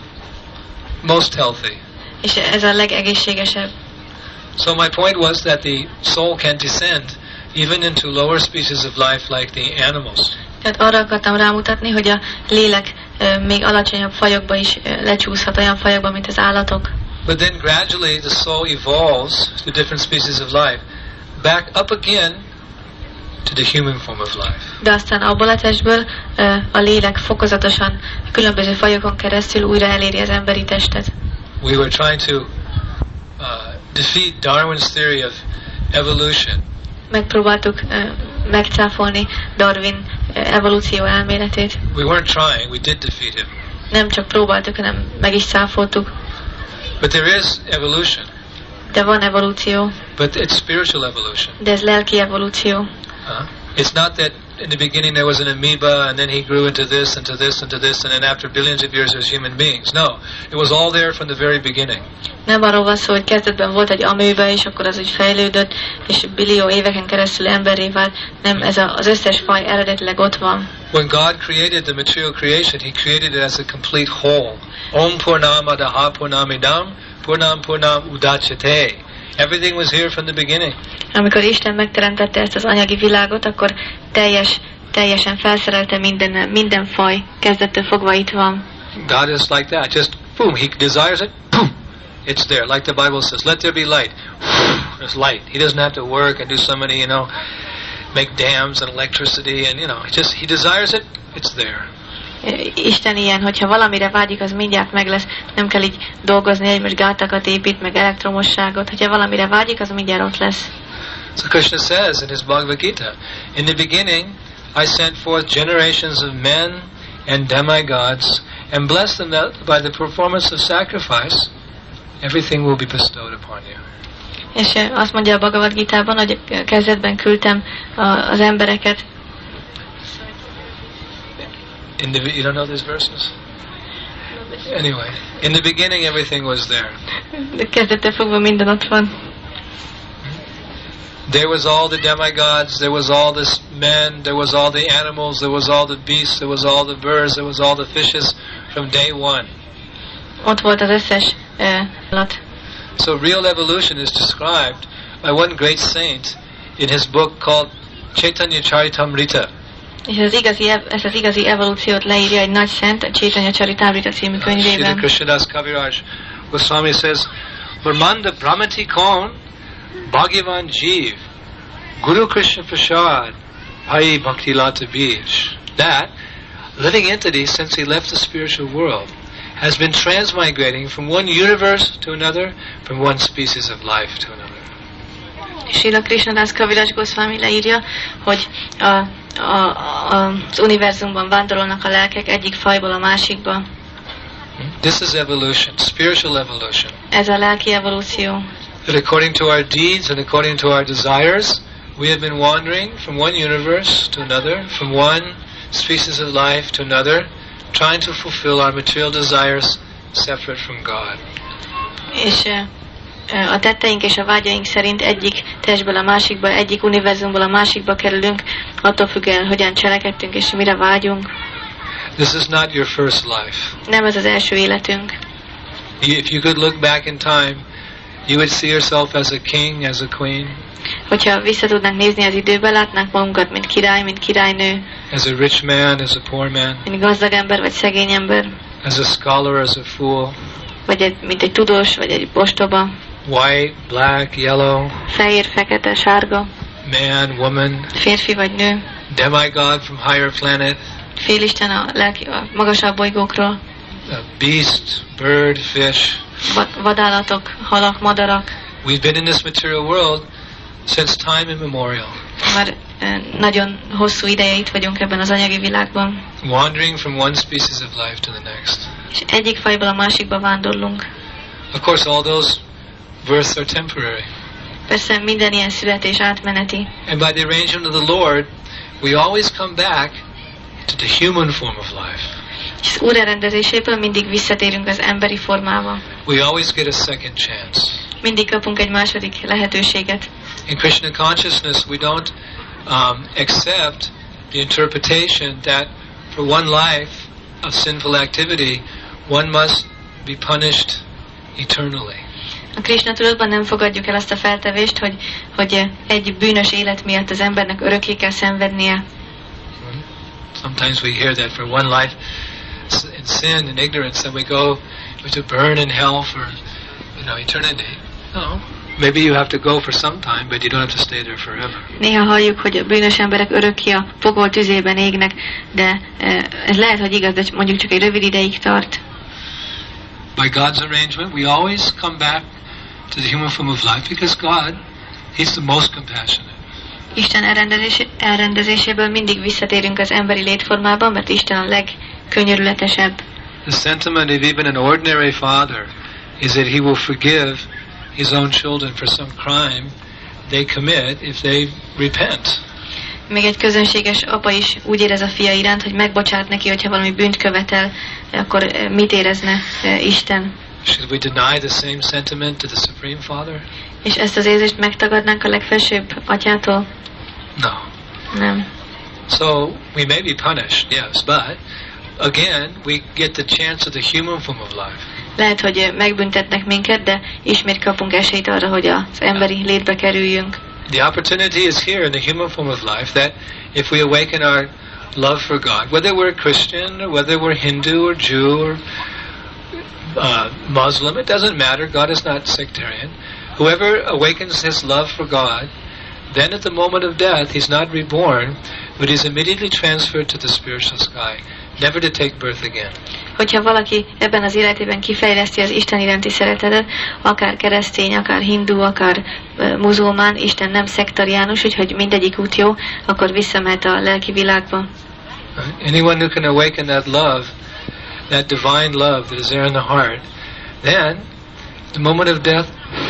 Speaker 2: Most healthy.
Speaker 1: És ez a legegészségesebb.
Speaker 2: So my point was that the soul can descend even into lower species of life like the animals.
Speaker 1: Tehát arra akartam rámutatni, hogy a lélek ö, még alacsonyabb fajokba is ö, lecsúszhat, olyan fajokba, mint az állatok.
Speaker 2: But then gradually the soul evolves to different species of life, back up again to the human form of life.
Speaker 1: De aztán abból a testből ö, a lélek fokozatosan különböző fajokon keresztül újra eléri az emberi testet.
Speaker 2: We were trying to uh, defeat Darwin's theory of evolution.
Speaker 1: Megpróbáltuk ö, megcáfolni Darwin ö, evolúció elméletét.
Speaker 2: We weren't trying, we did defeat him.
Speaker 1: Nem csak próbáltuk, hanem meg is cáfoltuk.
Speaker 2: But there is evolution.
Speaker 1: De van evolúció.
Speaker 2: But it's spiritual evolution.
Speaker 1: De ez lelki evolúció.
Speaker 2: Uh, it's not that in the beginning there was an amoeba and then he grew into this, into this, into this, and then after billions of years there's human beings. No, it was all there from the very beginning.
Speaker 1: Nem arról van szó, hogy kezdetben volt egy amőbe, és akkor az úgy fejlődött, és billió éveken keresztül emberré vált. Nem, ez a, az összes faj eredetileg ott van.
Speaker 2: When God created the material creation, He created it as a complete whole. Om Purnamadaha Purnamidam Purnam Purnam Udachyate. Everything was here from the beginning.
Speaker 1: Amikor Isten megteremtette ezt az anyagi világot, akkor teljes, teljesen felszerelte minden, minden faj, kezdettől fogva itt van.
Speaker 2: God is like that. Just boom, He desires it, boom, it's there. Like the Bible says, let there be light. There's light. He doesn't have to work and do so many, you know, make dams and electricity and, you know, just He desires it, it's there.
Speaker 1: Isten ilyen, hogyha valamire vágyik, az mindjárt meg lesz. Nem kell így dolgozni, hogy most gátakat épít, meg elektromosságot. Hogyha valamire vágyik, az mindjárt ott lesz.
Speaker 2: So Krishna says in his Bhagavad Gita, in the beginning I sent forth generations of men and demigods and blessed them that by the performance of sacrifice everything will be bestowed upon you.
Speaker 1: És azt mondja a Bhagavad Gitában, hogy kezdetben küldtem az embereket.
Speaker 2: In the, you don't know these verses? Anyway, in the beginning everything was there.
Speaker 1: De kezdettől fogva minden ott van.
Speaker 2: There was all the demigods, there was all the men, there was all the animals, there was all the beasts, there was all the birds, there was all the fishes from day one.
Speaker 1: Ott volt az összes állat. Uh,
Speaker 2: so real evolution is described by one great saint in his book called Chaitanya Charitamrita.
Speaker 1: És ez, igazi, ez az igazi evolúciót leírja egy nagy szent, a Chaitanya Charitamrita című könyvében.
Speaker 2: Srila Krishnadas Kaviraj Goswami says, Varmanda Brahmati Kaun Bhagavan Jeev Guru Krishna Prasad Bhai Bhakti Lata Bij. That living entity, since he left the spiritual world, has been transmigrating from one universe to another, from one species of life to another.
Speaker 1: Srila Krishnadas Kaviraj Goswami leírja, hogy a, a, a, az univerzumban vándorolnak a lelkek egyik fajból a másikba.
Speaker 2: This is evolution, spiritual evolution.
Speaker 1: Ez a lelki evolúció.
Speaker 2: That according to our deeds and according to our desires, we have been wandering from one universe to another, from one species of life to another, trying to fulfill our material desires separate from God.
Speaker 1: És a tetteink és a vágyaink szerint egyik testből a másikba, egyik univerzumból a másikba kerülünk, attól függően, hogyan cselekedtünk és mire vágyunk.
Speaker 2: This is not your first life.
Speaker 1: Nem ez az első életünk.
Speaker 2: If you could look back in time, you would see yourself as a king, as a queen.
Speaker 1: Hogyha vissza tudnánk nézni az időbe, látnánk magunkat, mint király, mint királynő.
Speaker 2: As a rich man, as a poor man.
Speaker 1: Mint gazdag ember, vagy szegény ember.
Speaker 2: As a scholar, as a fool.
Speaker 1: Vagy egy, mint egy tudós, vagy egy ostoba.
Speaker 2: White, black, yellow.
Speaker 1: Fehér, fekete, sárga.
Speaker 2: Man, woman.
Speaker 1: Férfi vagy nő.
Speaker 2: Demigod from higher planet.
Speaker 1: Félisten a, lelki, a magasabb bolygókról.
Speaker 2: A beast, bird, fish.
Speaker 1: Va- vadállatok, halak, madarak.
Speaker 2: We've been in this material world since time immemorial.
Speaker 1: Már eh, nagyon hosszú ideje itt vagyunk ebben az anyagi világban.
Speaker 2: Wandering from one species of life to the next.
Speaker 1: És egyik fajból a másikba vándorlunk.
Speaker 2: Of course, all those births are temporary.
Speaker 1: Persze minden ilyen születés átmeneti.
Speaker 2: And by the arrangement of the Lord, we always come back to the human form of life.
Speaker 1: És az Úr elrendezéséből mindig visszatérünk az emberi formába.
Speaker 2: We always get a second chance.
Speaker 1: Mindig kapunk egy második lehetőséget.
Speaker 2: In Krishna consciousness, we don't um, accept the interpretation that for one life of sinful activity, one must be punished eternally.
Speaker 1: A Krishna tudatban nem fogadjuk el azt a feltevést, hogy, hogy egy bűnös élet miatt az embernek örökké kell szenvednie.
Speaker 2: Sometimes we hear that for one life in sin and ignorance, then we go to burn in hell for, you know, eternity. No. Maybe you have to go for some time, but you don't have to stay there forever.
Speaker 1: Néha halljuk, hogy a bűnös emberek örökké a pokol tüzében égnek, de ez lehet, hogy igaz, de mondjuk csak egy rövid ideig tart.
Speaker 2: By God's arrangement, we always come back to the human form of life because God, He's the most compassionate.
Speaker 1: Isten elrendezés, elrendezéséből mindig visszatérünk az emberi létformában, mert Isten a legkönyörületesebb.
Speaker 2: The sentiment of even an ordinary father is that he will forgive his own children for some crime they commit if they repent.
Speaker 1: Még egy közönséges apa is úgy érez a fia iránt, hogy megbocsát neki, hogyha valami bűnt követel, akkor mit érezne Isten?
Speaker 2: Should we deny the same sentiment to the Supreme Father?
Speaker 1: És ezt az érzést megtagadnánk a legfelsőbb atyától?
Speaker 2: No.
Speaker 1: Nem.
Speaker 2: So we may be punished, yes, but again we get the chance of the human form of life.
Speaker 1: Lehet, hogy megbüntetnek minket, de ismét kapunk esélyt arra, hogy az emberi létbe kerüljünk.
Speaker 2: The opportunity is here in the human form of life that if we awaken our love for God, whether we're Christian or whether we're Hindu or Jew or uh, Muslim, it doesn't matter. God is not sectarian. Whoever awakens his love for God, then at the moment of death, he's not reborn, but he's immediately transferred to the spiritual sky, never to take birth again.
Speaker 1: Hogyha valaki ebben az életében kifejleszti az Isten iránti szeretetet, akár keresztény, akár hindu, akár uh, muzulmán, Isten nem szektariánus, úgyhogy mindegyik út jó, akkor visszamehet a lelki világba.
Speaker 2: Anyone who can awaken that love, that divine love that is there in the heart, then, at the moment of death,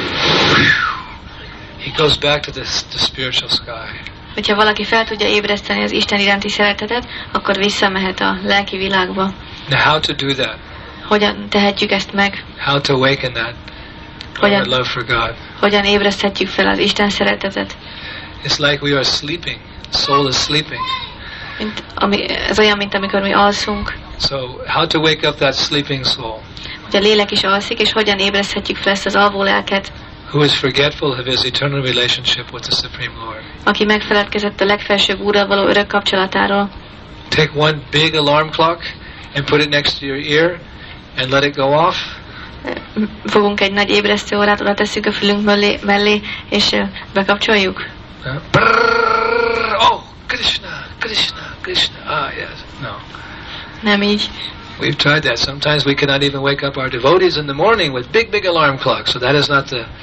Speaker 2: he goes back to the, the spiritual sky.
Speaker 1: Hogyha valaki fel tudja ébreszteni az Isten iránti szeretetet, akkor visszamehet a lelki világba.
Speaker 2: Now how to do that?
Speaker 1: Hogyan tehetjük ezt meg?
Speaker 2: How to awaken that
Speaker 1: Hogyan,
Speaker 2: our love for God?
Speaker 1: hogyan ébreszthetjük fel az Isten szeretetet?
Speaker 2: It's like we are sleeping. The soul is sleeping.
Speaker 1: Mint, ami, ez olyan, mint amikor mi alszunk.
Speaker 2: So how to wake up that sleeping soul?
Speaker 1: Hogy a lélek is alszik, és hogyan ébreszthetjük fel ezt az alvó lelket?
Speaker 2: Who is forgetful of his eternal relationship with the Supreme Lord?
Speaker 1: Aki megfeledkezett a legfelsőbb Úrral való örök kapcsolatáról.
Speaker 2: Take one big alarm clock and put it next to your ear and let it go off.
Speaker 1: Fogunk egy nagy ébresztő órát, oda tesszük a fülünk mellé, mellé és uh, bekapcsoljuk.
Speaker 2: Uh, brrr, oh, Krishna, Krishna, Krishna. Ah, yes. No.
Speaker 1: Nem így.
Speaker 2: We've tried that. Sometimes we cannot even wake up our devotees in the morning with big, big alarm clocks. So that is not the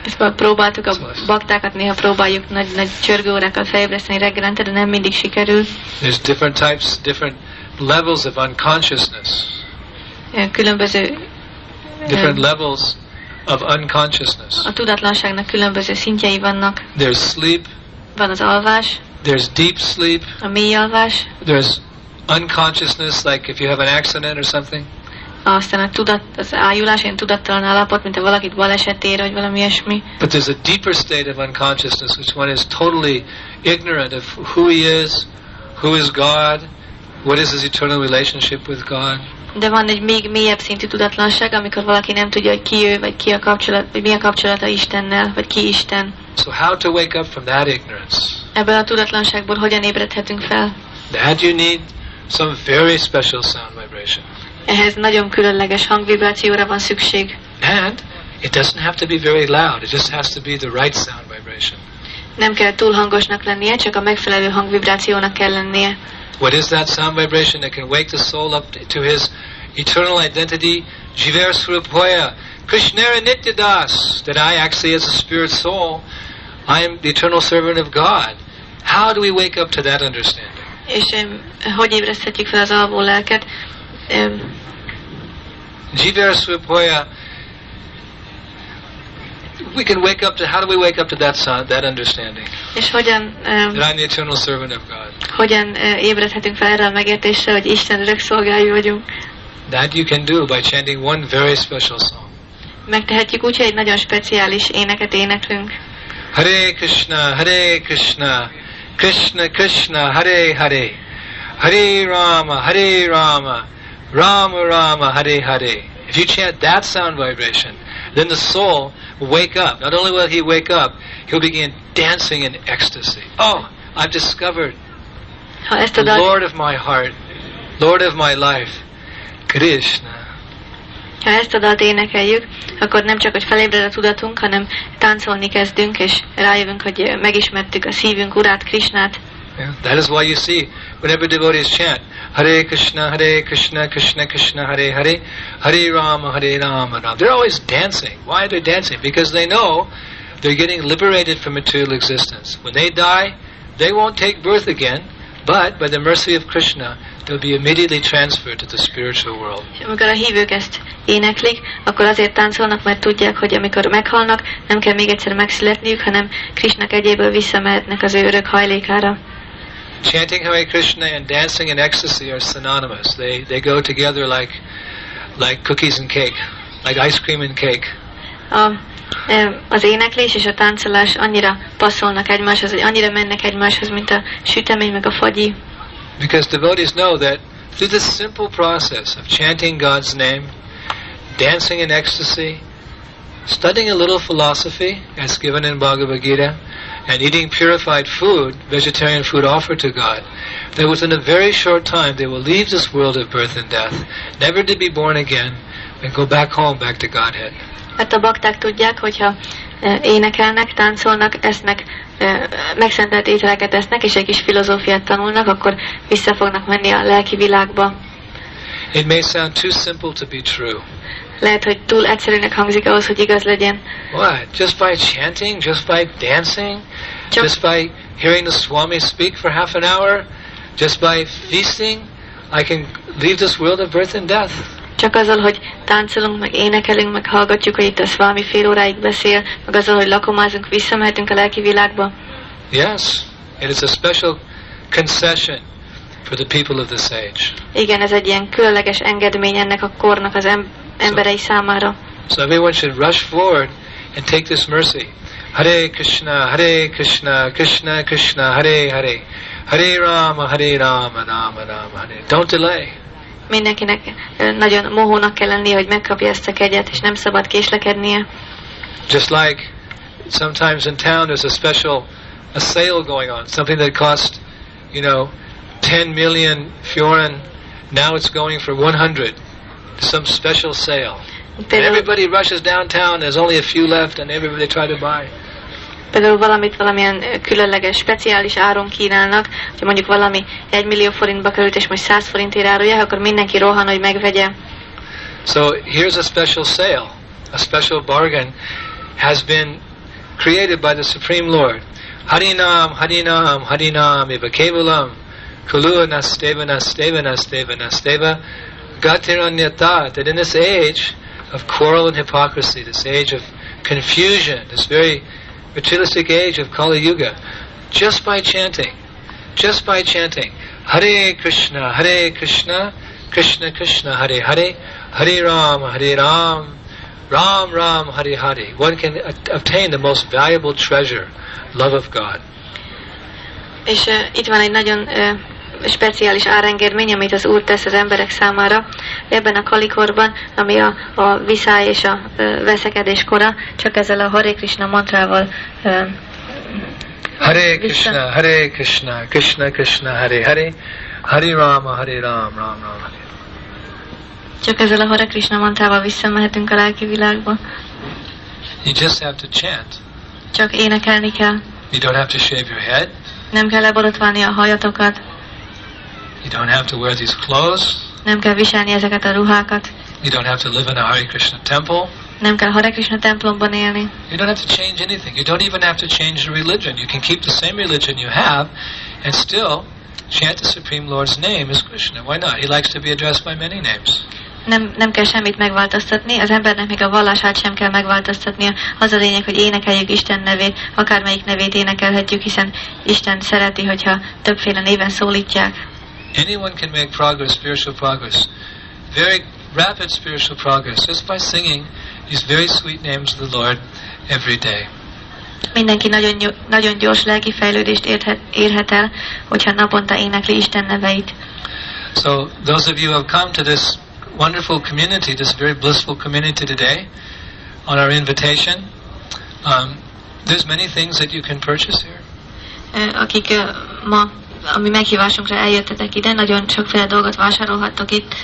Speaker 1: Ezt próbáltuk a baktákat, néha próbáljuk nagy, nagy csörgőórákat felébreszteni reggelente, de nem mindig sikerül.
Speaker 2: There's different types, different levels of unconsciousness.
Speaker 1: Különböző
Speaker 2: different levels of unconsciousness.
Speaker 1: A tudatlanságnak különböző szintjei vannak.
Speaker 2: There's sleep.
Speaker 1: Van az alvás.
Speaker 2: There's deep sleep.
Speaker 1: A mély alvás.
Speaker 2: There's unconsciousness, like if you have an accident or something.
Speaker 1: Aztán a tudat, az ájulás, ilyen tudattalan állapot, mint ha valakit baleset ér, vagy valami ilyesmi.
Speaker 2: But there's a deeper state of unconsciousness, which one is totally ignorant of who he is, who is God, what is his eternal relationship with God.
Speaker 1: De van egy még mélyebb szintű tudatlanság, amikor valaki nem tudja, hogy ki ő, vagy ki a kapcsolat, vagy milyen kapcsolata Istennel, vagy ki Isten.
Speaker 2: So how to wake up from that ignorance?
Speaker 1: Ebből a tudatlanságból hogyan ébredhetünk fel?
Speaker 2: That you need some very special sound vibration.
Speaker 1: Ehhez nagyon különleges hangvibrációra van szükség.
Speaker 2: And it doesn't have to be very loud. It just has to be the right sound vibration.
Speaker 1: Nem kell túl hangosnak lennie, csak a megfelelő hangvibrációnak kell lennie.
Speaker 2: What is that sound vibration that can wake the soul up to his eternal identity? Jiver Swarupoya, Krishnara Nityadas, that I actually as a spirit soul, I am the eternal servant of God. How do we wake up to that understanding?
Speaker 1: És um, hogy ébreszthetjük fel az alvó lelket? Um,
Speaker 2: Jiver Swarupoya, we can wake up to, how do we wake up to that sound, that understanding?
Speaker 1: És hogyan, um,
Speaker 2: that I'm the eternal servant of God.
Speaker 1: Hogyan uh, ébredhetünk fel erre a megértésre, hogy Isten örök szolgái vagyunk?
Speaker 2: That you can do by chanting one very special song.
Speaker 1: Megtehetjük úgy, hogy egy nagyon speciális éneket éneklünk.
Speaker 2: Hare Krishna, Hare Krishna, Krishna Krishna, Hare Hare, Hare Rama, Hare Rama, Rama Rama, Hare Hare. If you chant that sound vibration, then the soul will wake up. Not only will he wake up, he'll begin dancing in ecstasy. Oh, I've discovered
Speaker 1: ha ezt
Speaker 2: the Lord of my heart, Lord of my life, Krishna.
Speaker 1: Ha ezt a dalt énekeljük, akkor nem csak, hogy felébred a tudatunk, hanem táncolni kezdünk, és rájövünk, hogy megismertük a szívünk urát, Krishnát.
Speaker 2: Yeah, that is why you see, whenever devotees chant, Hare Krishna, Hare Krishna, Krishna Krishna, Hare Hare, Hare Rama, Hare Rama, Rama. They're always dancing. Why are they dancing? Because they know they're getting liberated from material existence. When they die, they won't take birth again, but by the mercy of Krishna, they'll be immediately transferred to the spiritual world.
Speaker 1: És amikor a hívők ezt éneklik, akkor azért táncolnak, mert tudják, hogy amikor meghalnak, nem kell még egyszer megszületniük, hanem Krishna kegyéből visszamehetnek az ő örök hajlékára.
Speaker 2: Chanting Hare Krishna and dancing in ecstasy are synonymous. They they go together like like cookies and cake, like ice cream and cake.
Speaker 1: A, az éneklés és a táncolás annyira passzolnak egymáshoz, hogy annyira mennek egymáshoz, mint a sütemény meg a fagyi.
Speaker 2: Because devotees know that through this simple process of chanting God's name, dancing in ecstasy, studying a little philosophy as given in Bhagavad Gita, and eating purified food, vegetarian food offered to God, that within a very short time they will leave this world of birth and death, never to be born again, and go back home, back to Godhead.
Speaker 1: Hát a bakták tudják, hogyha énekelnek, táncolnak, esznek, megszentelt ételeket esznek, és egy kis filozófiát tanulnak, akkor vissza fognak menni a lelki világba.
Speaker 2: It may sound too simple to be true.
Speaker 1: Lehet, hogy túl egyszerűnek hangzik ahhoz, hogy igaz legyen.
Speaker 2: What? Just by chanting? Just by dancing?
Speaker 1: Csak
Speaker 2: just by hearing the Swami speak for half an hour? Just by feasting? I can leave this world of birth and death.
Speaker 1: Csak azzal, hogy táncolunk, meg énekelünk, meg hallgatjuk, hogy itt a Swami fél óráig beszél, meg azzal, hogy lakomázunk, visszamehetünk a lelki világba.
Speaker 2: Yes, it is a special concession for the people of this age.
Speaker 1: Igen, ez egy ilyen különleges engedmény ennek a kornak az em- emberei
Speaker 2: so,
Speaker 1: számára.
Speaker 2: So everyone should rush forward and take this mercy. Hare Krishna, Hare Krishna, Krishna Krishna, Hare Hare, Hare Rama, Hare Rama, Rama Rama, Hare. Don't delay.
Speaker 1: Mindenkinek nagyon mohónak kell lennie, hogy megkapja ezt a kegyet, és nem szabad késlekednie.
Speaker 2: Just like sometimes in town there's a special a sale going on, something that cost, you know, ten million fjoren, now it's going for one hundred. Some special sale. And everybody rushes downtown, there's only a few left, and everybody try to buy.
Speaker 1: Például valamit valamilyen különleges, speciális áron kínálnak, hogy mondjuk valami egy millió forintba került, és most száz forintért árulják, akkor mindenki rohan, hogy megvegye.
Speaker 2: So here's a special sale, a special bargain has been created by the Supreme Lord. Harinam, Harinam, Harinam, eva kevalam, kulu nasteva, nasteva, nasteva, nasteva, gatiranyata, that in this age of quarrel and hypocrisy, this age of confusion, this very materialistic age of Kali Yuga, just by chanting, just by chanting, Hare Krishna, Hare Krishna, Krishna Krishna, Hare Hare, Hare Ram, Hare Ram, Ram Ram, Hare Hare, one can a- obtain the most valuable treasure, love of God.
Speaker 1: És uh, itt van egy nagyon uh, speciális árengedmény, amit az Úr tesz az emberek számára. Ebben a kalikorban, ami a, a viszály és a uh, veszekedés kora, csak ezzel a Hare Krishna mantrával uh,
Speaker 2: Hare Krishna, Hare Krishna, Krishna Krishna, Hare Hare, Hare Rama, Hare Ram, Ram Ram, Hare.
Speaker 1: Csak ezzel a Hare Krishna mantrával visszamehetünk a lelki világba.
Speaker 2: You just have to chant.
Speaker 1: Csak énekelni kell.
Speaker 2: You don't have to shave your head.
Speaker 1: Nem kell leborotválni a hajatokat.
Speaker 2: You don't have to wear these clothes.
Speaker 1: Nem kell viselni ezeket a ruhákat.
Speaker 2: You don't have to live in a Hare Krishna temple.
Speaker 1: Nem kell Hare Krishna templomban élni.
Speaker 2: You don't have to change anything. You don't even have to change the religion. You can keep the same religion you have and still chant the Supreme Lord's name as Krishna. Why not? He likes to be addressed by many names.
Speaker 1: Nem, nem kell semmit megváltoztatni, az embernek még a vallását sem kell megváltoztatnia. Az a lényeg, hogy énekeljük Isten nevét, akármelyik nevét énekelhetjük, hiszen Isten szereti, hogyha többféle néven szólítják.
Speaker 2: Anyone can make progress, spiritual progress. Very rapid spiritual progress just by singing these very sweet names of the Lord every day.
Speaker 1: Mindenki nagyon, nagyon gyors lelki fejlődést érhet, érhet el, hogyha naponta énekli Isten neveit.
Speaker 2: So those of you who have come to this wonderful community, this very blissful community today, on our invitation, um, there's many things that you can purchase here.
Speaker 1: Akik uh, ma, ami meghívásunkra eljöttetek ide, nagyon sokféle dolgot vásárolhattok itt.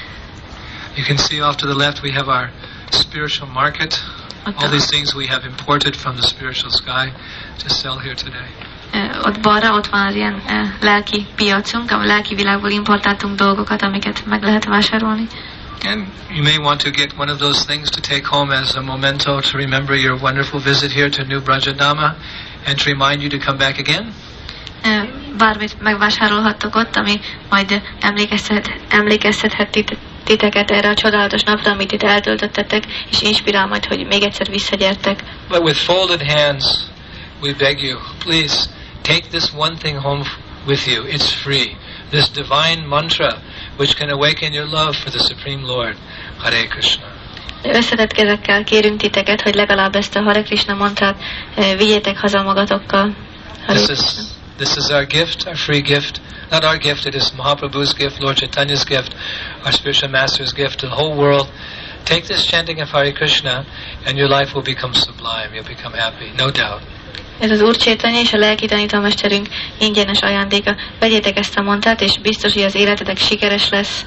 Speaker 2: You can see off to the left we have our spiritual market. All these things we have imported from the spiritual sky to sell here today.
Speaker 1: Uh, ott balra, ott van az ilyen uh, lelki piacunk, a lelki világból importáltunk dolgokat, amiket meg lehet vásárolni.
Speaker 2: And you may want to get one of those things to take home as a memento to remember your wonderful visit here to New Brajadama and to remind you to come back again.
Speaker 1: Uh, bármit megvásárolhattok ott, ami majd emlékeztet, emlékeztethet tit, titeket erre a csodálatos napra, amit itt eltöltöttetek, és inspirál majd, hogy még egyszer visszagyertek.
Speaker 2: But with folded hands, we beg you, please take this one thing home with you. It's free. This divine mantra which can awaken your love for the Supreme Lord. Hare Krishna.
Speaker 1: Összetett kezekkel kérünk titeket, hogy legalább ezt a Hare Krishna mantrát uh, vigyétek haza magatokkal.
Speaker 2: This is, this is our gift, our free gift. Not our gift, it is Mahaprabhu's gift, Lord Chaitanya's gift, our spiritual master's gift to the whole world. Take this chanting of Hare Krishna and your life will become sublime. You'll become happy, no doubt.
Speaker 1: Ez az Úr Chaitanya és a lelki tanítómesterünk ingyenes ajándéka. Vegyétek ezt a mantrát, és biztos, hogy az életetek sikeres lesz.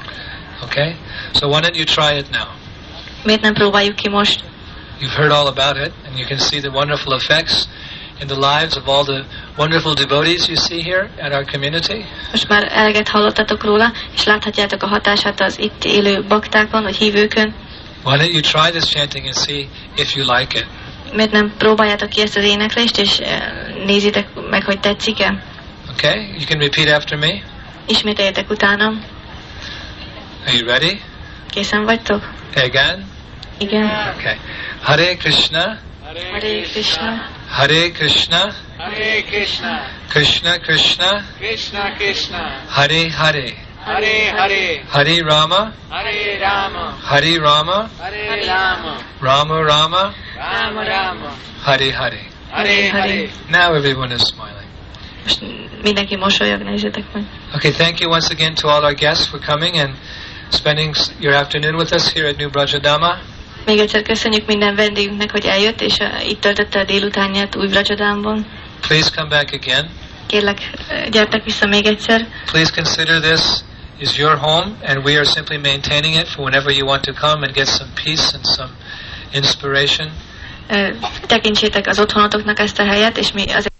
Speaker 2: Okay? So why don't you try it now?
Speaker 1: Miért nem próbáljuk ki most?
Speaker 2: You've heard all about it, and you can see the wonderful effects in the lives of all the wonderful devotees you see here at our community.
Speaker 1: Most már eleget hallottatok róla, és láthatjátok a hatását az itt élő baktákon, vagy hívőkön.
Speaker 2: Why don't you try this chanting and see if you like it?
Speaker 1: Miért nem próbáljátok ki ezt az éneklést, és nézitek meg, hogy tetszik-e?
Speaker 2: Okay? You can repeat after me.
Speaker 1: Ismételjétek utánam.
Speaker 2: Are you ready?
Speaker 1: Készen vagytok?
Speaker 2: Again?
Speaker 1: Igen.
Speaker 2: Okay. Hare Krishna.
Speaker 1: Hare Krishna.
Speaker 2: Hare Krishna.
Speaker 3: Hare Krishna.
Speaker 2: Krishna Krishna.
Speaker 3: Krishna Krishna.
Speaker 2: Hare Hare.
Speaker 3: Hare Hare.
Speaker 2: Hare Rama.
Speaker 3: Hare Rama.
Speaker 2: Hare Rama.
Speaker 3: Hare Rama.
Speaker 2: Rama Rama.
Speaker 3: Rama Rama.
Speaker 2: Hare Hare.
Speaker 3: Hare Hare.
Speaker 2: Now everyone is smiling.
Speaker 1: Most mindenki mosolyog, nézzétek meg.
Speaker 2: Okay, thank you once again to all our guests for coming and spending your afternoon with us here at New Brajadama.
Speaker 1: Még egyszer köszönjük minden vendégünknek, hogy eljött, és uh, itt töltötte a délutánját új Brajadámban.
Speaker 2: Please come back again.
Speaker 1: Kérlek, gyertek vissza még egyszer.
Speaker 2: Please consider this is your home, and we are simply maintaining it for whenever you want to come and get some peace and some inspiration.
Speaker 1: Uh, tekintsétek az otthonotoknak ezt a helyet, és mi azért